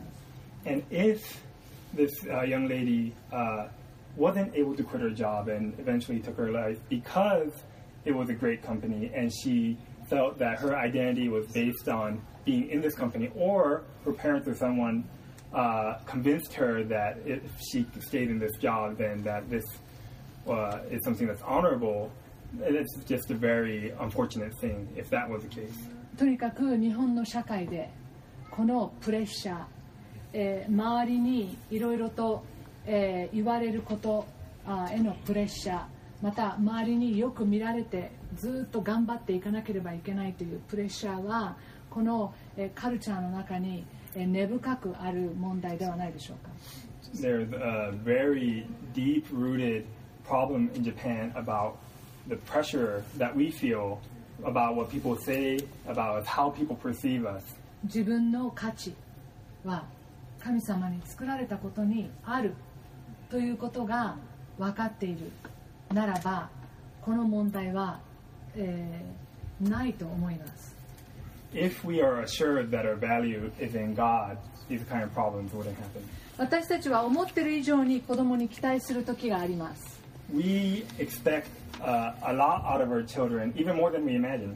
And if this young lady wasn't able to quit her job and eventually took her life because it was a great company and she felt that her identity was based on being in this company, or her parents or someone convinced her that if she stayed in this job, then that this is something that's honorable, it's just a very unfortunate thing if that was the case. とにかく日本の社会でこのプレッシャー、周りにいろいろと、言われることへのプレッシャー、また周りによく見られてずっと頑張っていかなければいけないというプレッシャーはこの、カルチャーの中に根深くある問題ではないでしょうか。 There's a very deep-rooted problem in Japan about the pressure that we feel about what people say about us, how people perceive us. 自分の価値は神様に作られたことにあるということが分かっているならば、この問題は、ないと思います。 If we are assured that our value is in God, these kind of problems wouldn't happen. 私たちは思っている以上に子供に期待する時があります。 We expect a lot out of our children, even more than we imagine.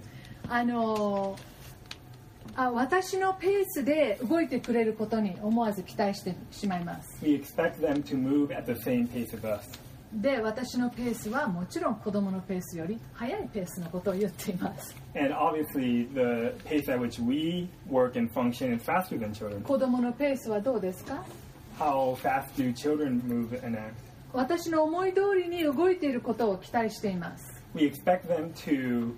私のペースで動いてくれることに思わず期待してしまいます。 We expect them to move at the same pace as us. で、私のペースはもちろん子供のペースより速いペースのことを言っています。 And obviously, the pace at which we work and function is faster than children. 子供のペースはどうですか？ How fast do children move and act? 私の思い通りに動いていることを期待しています。 We expect them to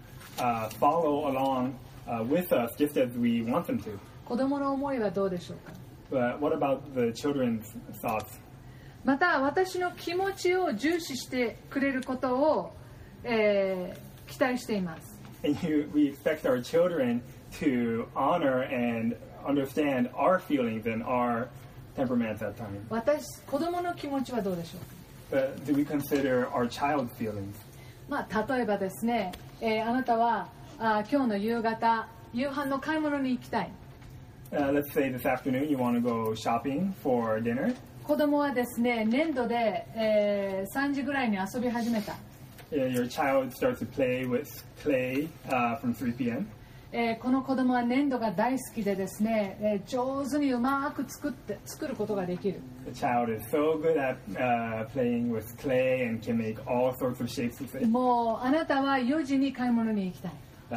follow along with us just as we want them to. 子供の思いはどうでしょうか？ But what about the children's thoughts? また私の気持ちを重視してくれることを、期待しています。 And we expect our children to honor and understand our feelings and our temperaments at times. 子供の気持ちはどうでしょうか？ But do we consider our child's feelings? 例えばですね、あなたは今日の夕方夕飯の買い物に行きたい。 Let's say this afternoon you want to go shopping for dinner. 子供はですね、粘土で、3時ぐらいに遊び始めた。 Your child starts to play with clay from 3 p.m. この子供は粘土が大好きでですね、上手にうまく作ることができる。 The child is so good at playing with clay and can make all sorts of shapes with it. もうあなたは4時に買い物に行きたい。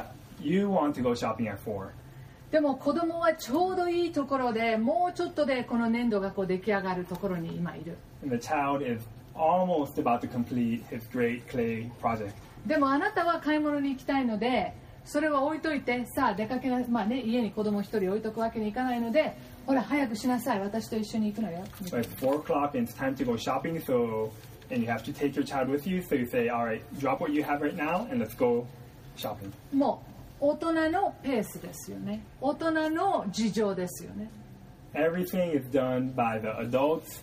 You want to go shopping at 4. でも子供はちょうどいいところでもうちょっとでこの粘土が出来上がるところに今いる。 And the child is almost about to complete his great clay project. でもあなたは買い物に行きたいので、それは置いといて、さあ出かけな、家に子供一人置いとくわけにいかないので、ほら早くしなさい、私と一緒に行くのよ。 So it's 4 o'clock and it's time to go shopping, and you have to take your child with you, so you say, all right, drop what you have right now and let's go shopping. もう大人のペースですよね。大人の事情ですよね。 Everything is done by the adults'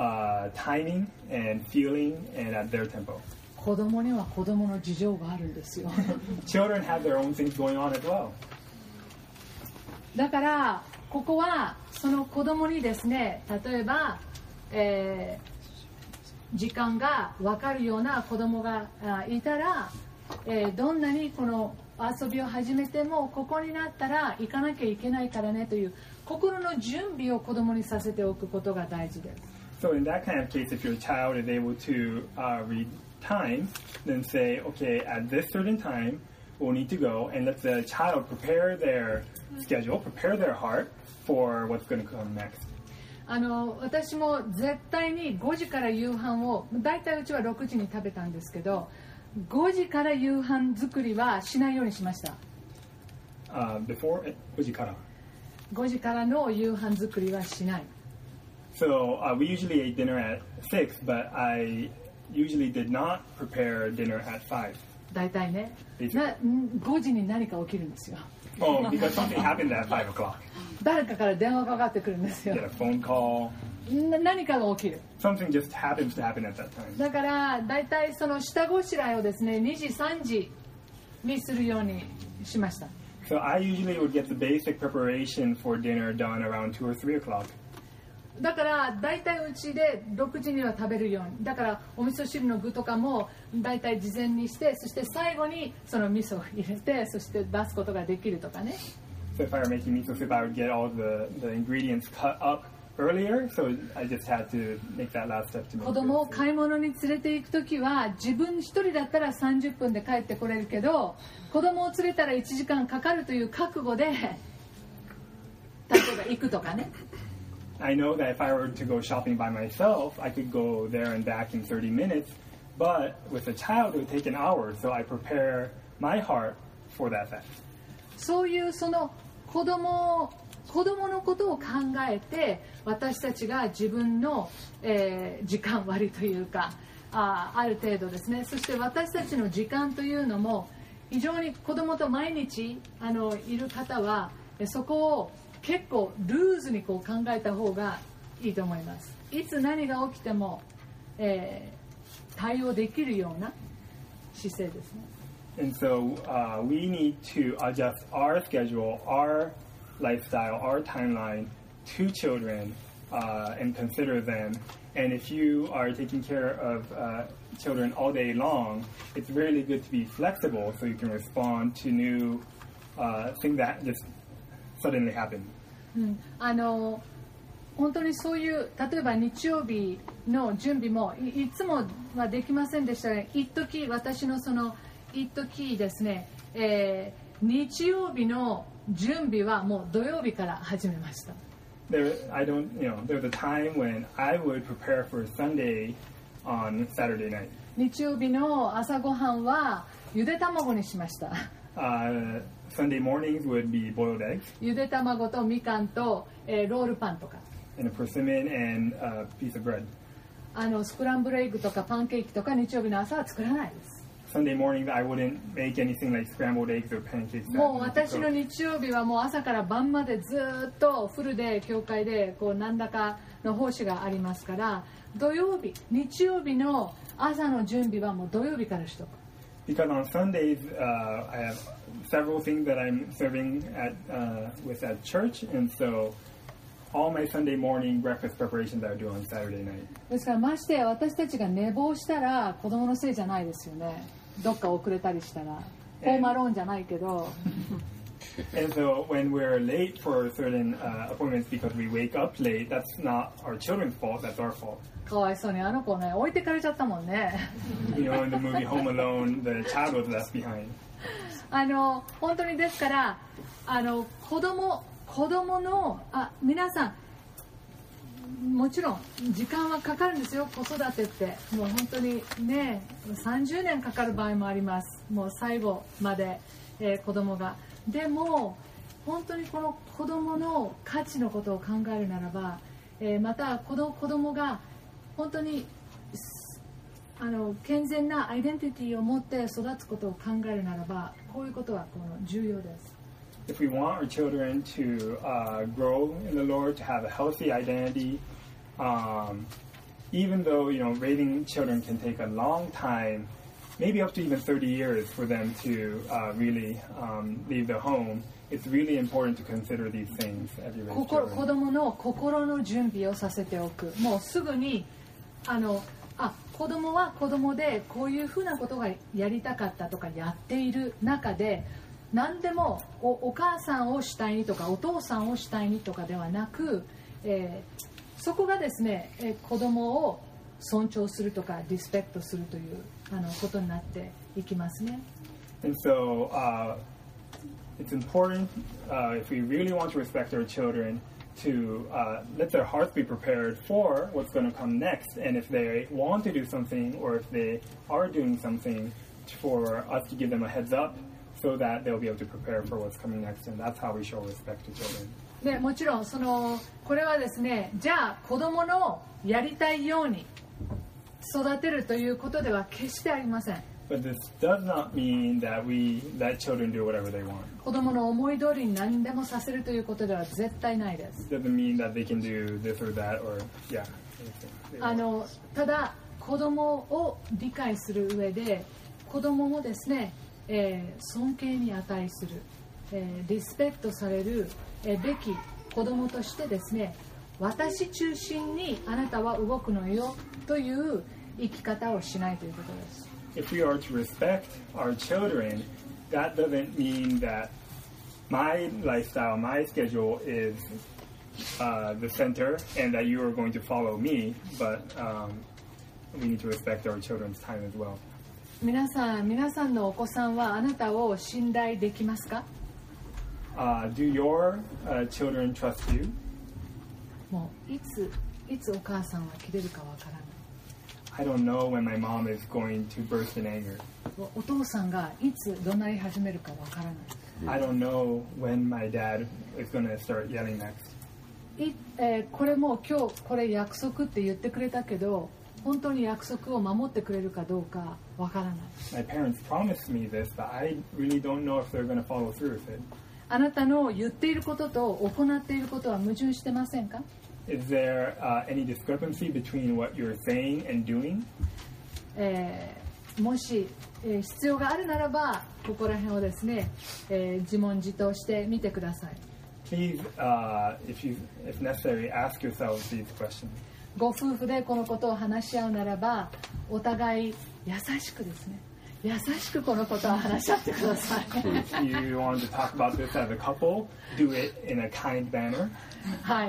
timing and feeling and at their tempo. 子供には子供の事情があるんですよ。 Children have their own things going on as well. だからここはその子供にですね、例えば、 時間が分かるような子供がいたら、どんなにこの遊びを始めてもここになったら行かなきゃいけないからねという心の準備を子供にさせておくことが大事です。 So in that kind of case, if your child is able to read time, then say, okay, at this certain time, we'll need to go, and let the child prepare their schedule, prepare their heart for what's going to come next. 私も絶対に5時から夕飯を、大体うちは6時に食べたんですけど、5時から夕飯作りはしないようにしました。 Before 5時から。 5時からの夕飯作りはしない。 So we usually ate dinner at 6, but I usually did not prepare dinner at 5. 大体ね、5時に何か起きるんですよ。 Oh, because something happened at 5 o'clock. 誰かから電話かかってくるんですよ。 Get a phone call. 何かが起きる。 Something just happens to happen at that time. だから大体その下ごしらえをですね、2時3時にするようにしました。 So I usually would get the basic preparation for dinner done around 2 or 3 o'clock. だから大体うちで6時には食べるように。だからお味噌汁の具とかも大体事前にして、そして最後にその味噌を入れて、そして出すことができるとかね。 So if I were making miso soup, I would get all the ingredients cut up earlier, so I just had to make that last step to make it. 子供を買い物に連れて行くときは自分一人だったら30分で帰ってこれるけど、子供を連れたら1時間かかるという覚悟で例えば行くとかね。 I know that if I were to go shopping by myself, I could go there and back in 30 minutes, but with a child it would take an hour, so I prepare my heart for that fact. そういうその子供のことを考えて私たちが自分の、時間割というかある程度ですね。そして私たちの時間というのも非常に子供と毎日いる方はそこを結構ルーズにこう考えた方がいいと思います。いつ何が起きても、対応できるような姿勢ですね。 And so we need to adjust our schedule, our lifestyle, our timeline to children and consider them. And if you are taking care of children all day long, it's really good to be flexible so you can respond to new things that just suddenly happen. 本当にそういう例えば日曜日の準備も いつもはできませんでしたが、一時私のその一時ですね、日曜日の準備はもう土曜日から始めました。 There's a time when I would prepare for Sunday on Saturday night. 日曜日の朝ごはんはゆで卵にしました。 Sunday mornings would be boiled eggs. ゆで卵とみかんと、ロールパンとか。 And a persimmon and a piece of bread. スクランブルエッグとかパンケーキとか日曜日の朝は作らないです。 Sunday mornings, I wouldn't make anything like scrambled eggs or pancakes. もう私の日曜日はもう朝から晩までずっとフルで教会でこう何らかの奉仕がありますから、土曜日、日曜日の朝の準備はもう土曜日からしとく。 Because on Sundays, I have several things that I'm serving with at church, and so all my Sunday morning breakfast preparations I do on Saturday night. ですからまして私たちが寝坊したら子供のせいじゃないですよね。どっか遅れたりしたらホームアローンじゃないけど。 And so when we're late for certain appointments because we wake up late, that's not our children's fault, that's our fault. かわいそうにあの子ね置いてかれちゃったもんね。 You know, in the movie Home Alone, the child was left behind. 本当にですから子供の皆さんもちろん時間はかかるんですよ。子育てってもう本当にね30年かかる場合もあります。もう最後まで、子供がでも本当にこの子供の価値のことを考えるならば、また子供が本当に健全なアイデンティティを持って育つことを考えるならばこういうことは重要です。 If we want our children to grow in the Lord, to have a healthy identity, even though raising children can take a long time, maybe up to even 30 years for them to really leave their home, it's really important to consider these things as you raise children. 子供の心の準備をさせておく。もうすぐに子供は子供でこういうふうなことがやりたかったとかやっている中で、何でも お母さんを主体にとかお父さんを主体にとかではなく、そこがですね、子供を尊重するとかリスペクトするということになっていきますね。 And so it's important if we really want to respect our children to let their hearts be prepared for what's going to come next. And if they want to do something or if they are doing something, for us to give them a heads up so that they'll be able to prepare for what's coming next. And that's how we show respect to children. でもちろんこれはですね、じゃあ子供のやりたいように育てるということでは決してありません。 But this does not mean that we let children do whatever they want. 子供の思い通りに何でもさせるということでは絶対ないです。 It doesn't mean that they can do this or that or yeah. ただ子供を理解する上で、子供もですね、尊敬に値する、リスペクトされるべき子供としてですね、私中心にあなたは動くのよという生き方をしないということです。 If we are to respect our children, that doesn't mean that my lifestyle, my schedule is the center and that you are going to follow me, but we need to respect our children's time as well. 皆さんのお子さんはあなたを信頼できますか？ Do your children trust you? もういつお母さんは切れるかわからない。 I don't know when my mom is going to burst in anger. お父さんがいつ怒鳴り始めるかわからない。 I don't know when my dad is going to start yelling next. これも今日これ約束って言ってくれたけど、本当に約束を守ってくれるかどうかわからない。 My parents promised me this, but I really don't know if they're going to follow through with it. あなたの言っていることと行っていることは矛盾してませんか？ Is there any discrepancy between what you're saying and doing? もし、必要があるならばここら辺をですね、自問自答してみてください。 Please, if necessary, ask yourselves these questions. ご夫婦でこのことを話し合うならば、お互い優しくですね、優しくこのことを話し合ってください。 If you want to talk about this as a couple, do it in a kind manner. はい、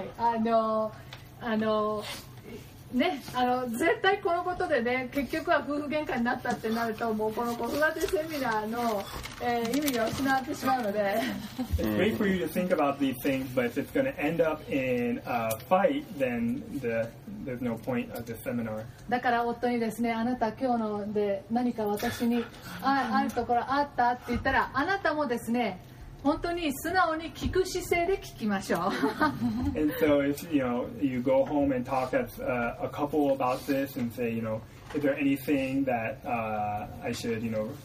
ね、絶対このことでね、結局は夫婦喧嘩になったってなると、もうこの子育てセミナーの、意味が失ってしまうので。 It's great for you to think about these things, but if it's going to end up in a fight, then there's no point of the seminar. だから夫にですね、あなた今日ので何か私にあるところあったって言ったら、あなたもですね、本当に素直に聞く姿勢で聞きましょう。 And so if you go home and talk as a couple about this and say, is there anything that I should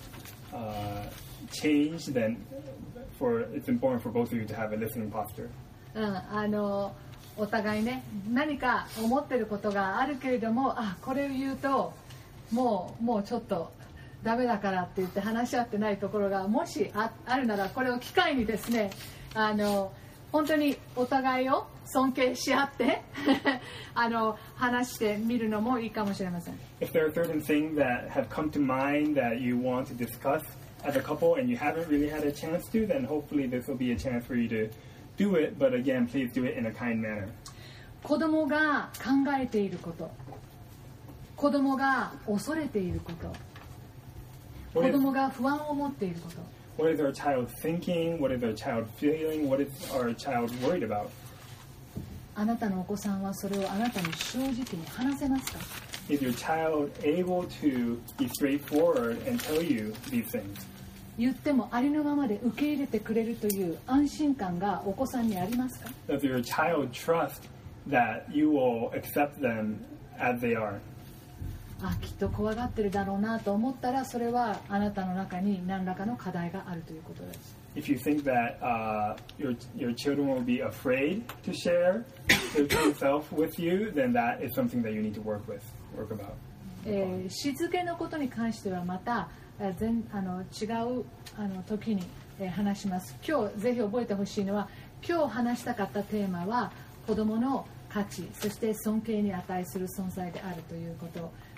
change, then it's important for both of you to have a listening posture. お互いね、何か思ってることがあるけれども、これを言うともうちょっとダメだからって言って話し合ってないところがもし あるなら、これを機会にですね、本当にお互いを尊敬し合って話してみるのもいいかもしれません。 If there are certain things that have come to mind that you want to discuss as a couple and you haven't really had a chance to, then hopefully this will be a chance for you to do it, but again, please do it in a kind manner. 子供が考えていること、子供が恐れていること、子供が不安を持っていること。 What is our child thinking? What is our child feeling? What is our child worried about? あなたのお子さんはそれをあなたに正直に話せますか？ Is your child able to be straightforward and tell you these things? 言ってもありのままで受け入れてくれるという安心感がお子さんにありますか？ Does your child trust that you will accept them as they are? きっと怖がってるだろうなと思ったら、それはあなたの中に何らかの課題があるということです。 If you think that your children will be afraid to share their true self with you, then that is something that you need to work about. しつけのことに関してはまた違う時に話します。今日ぜひ覚えてほしいのは、今日話したかったテーマは子どもの価値、そして尊敬に値する存在であるということ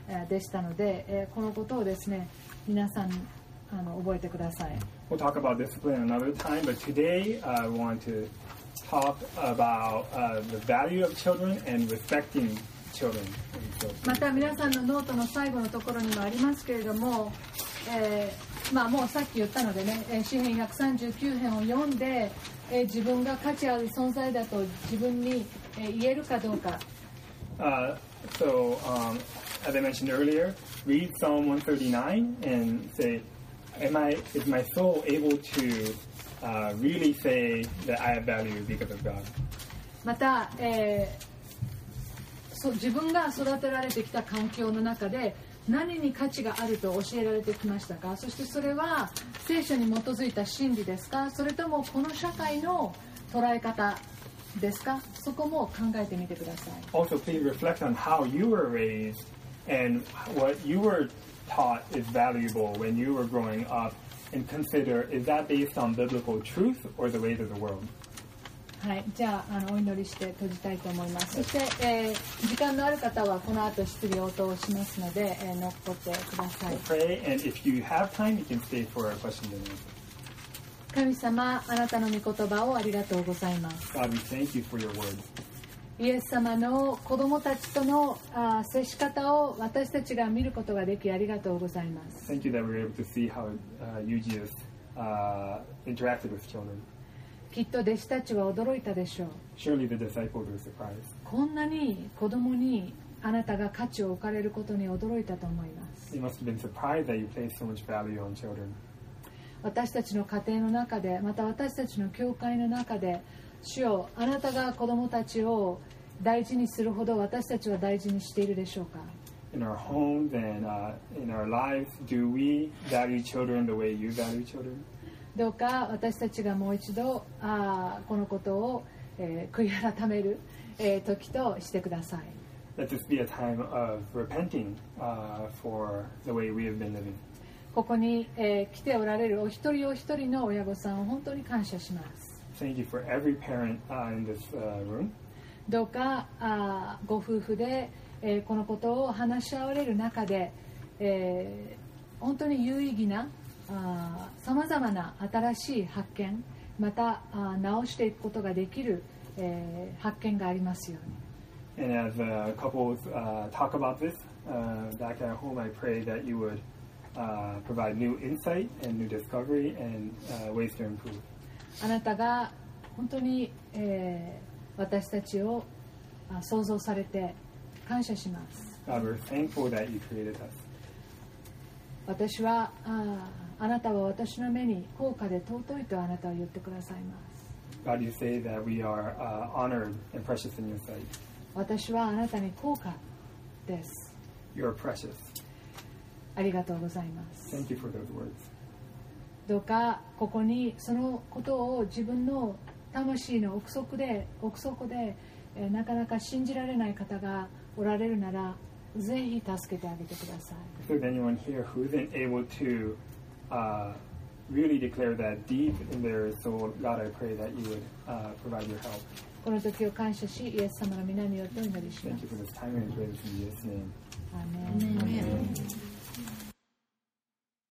でしたので、このことをですね、皆さん覚えてください。 We'll talk about discipline another time, but today I want to talk about the value of children and respecting children. また皆さんのノートの最後のところにもありますけれども、もうさっき言ったのでね、詩編139編を読んで、自分が価値ある存在だと自分に言えるかどうか。 So, as I mentioned earlier, read Psalm 139 and say, is my soul able to really say that I have value because of God? また、自分が育てられてきた環境の中で何に価値があると教えられてきましたか？そしてそれは聖書に基づいた真理ですか？それともこの社会の捉え方ですか？そこも考えてみてください。 Also, please reflect on how you were raised and what you were taught is valuable when you were growing up, and consider, is that based on biblical truth or the ways of the world? はい、じゃあ、お祈りして閉じたいと思います。そして、時間のある方はこの後質疑応答しますので、残ってください。 Pray, and if you have time, you can stay for a question and answer. 神様、あなたの御言葉をありがとうございます。 God, we thank you for your word. イエス様の子供たちとの接し方を私たちが見ることができありがとうございます。 Thank you that we were able to see how you Jesus interacted with children. きっと弟子たちは驚いたでしょう。 Surely the disciples were surprised. こんなに子供にあなたが価値を置かれることに驚いたと思います。 They must have been surprised that you placed so much value on children. 私たちの家庭の中で、また私たちの教会の中で、主よ、あなたが子供たちを大事にするほど私たちは大事にしているでしょうか？ In our homes and in our lives, do we value children the way you value children? どうか私たちがもう一度このことを、悔い改める、時としてください。 Let this be a time of repenting for the way we have been living. ここに、来ておられるお一人お一人の親御さんを本当に感謝します。 Thank you for every parent in this room. どうかご夫婦で、このことを話し合われる中で、本当に有意義なさまざまな新しい発見、また直していくことができる、発見がありますように。 And as couples talk about this back at home, I pray that you would provide new insight and new discovery and ways to improve. あなたが本当に、私たちを創造されて感謝します。 God, we're thankful that you created us. 私はあなたは私の目に高価で尊いとあなたは言ってくださいます。 God, you say that we are honored and precious in your sight. 私はあなたに高価です。 You are precious. ありがとうございます。 Thank you for those words. どうかここにそのことを自分の魂の奥底でなかなか信じられない方がおられるならぜひ助けてあげてください。 If there's anyone here who isn't able to really declare that deep in their soul, God, I pray that you would provide your help. この時を感謝し、イエス様の皆によってお祈りしま Thank す。 you for this time and praise in Jesus' name. アーメン。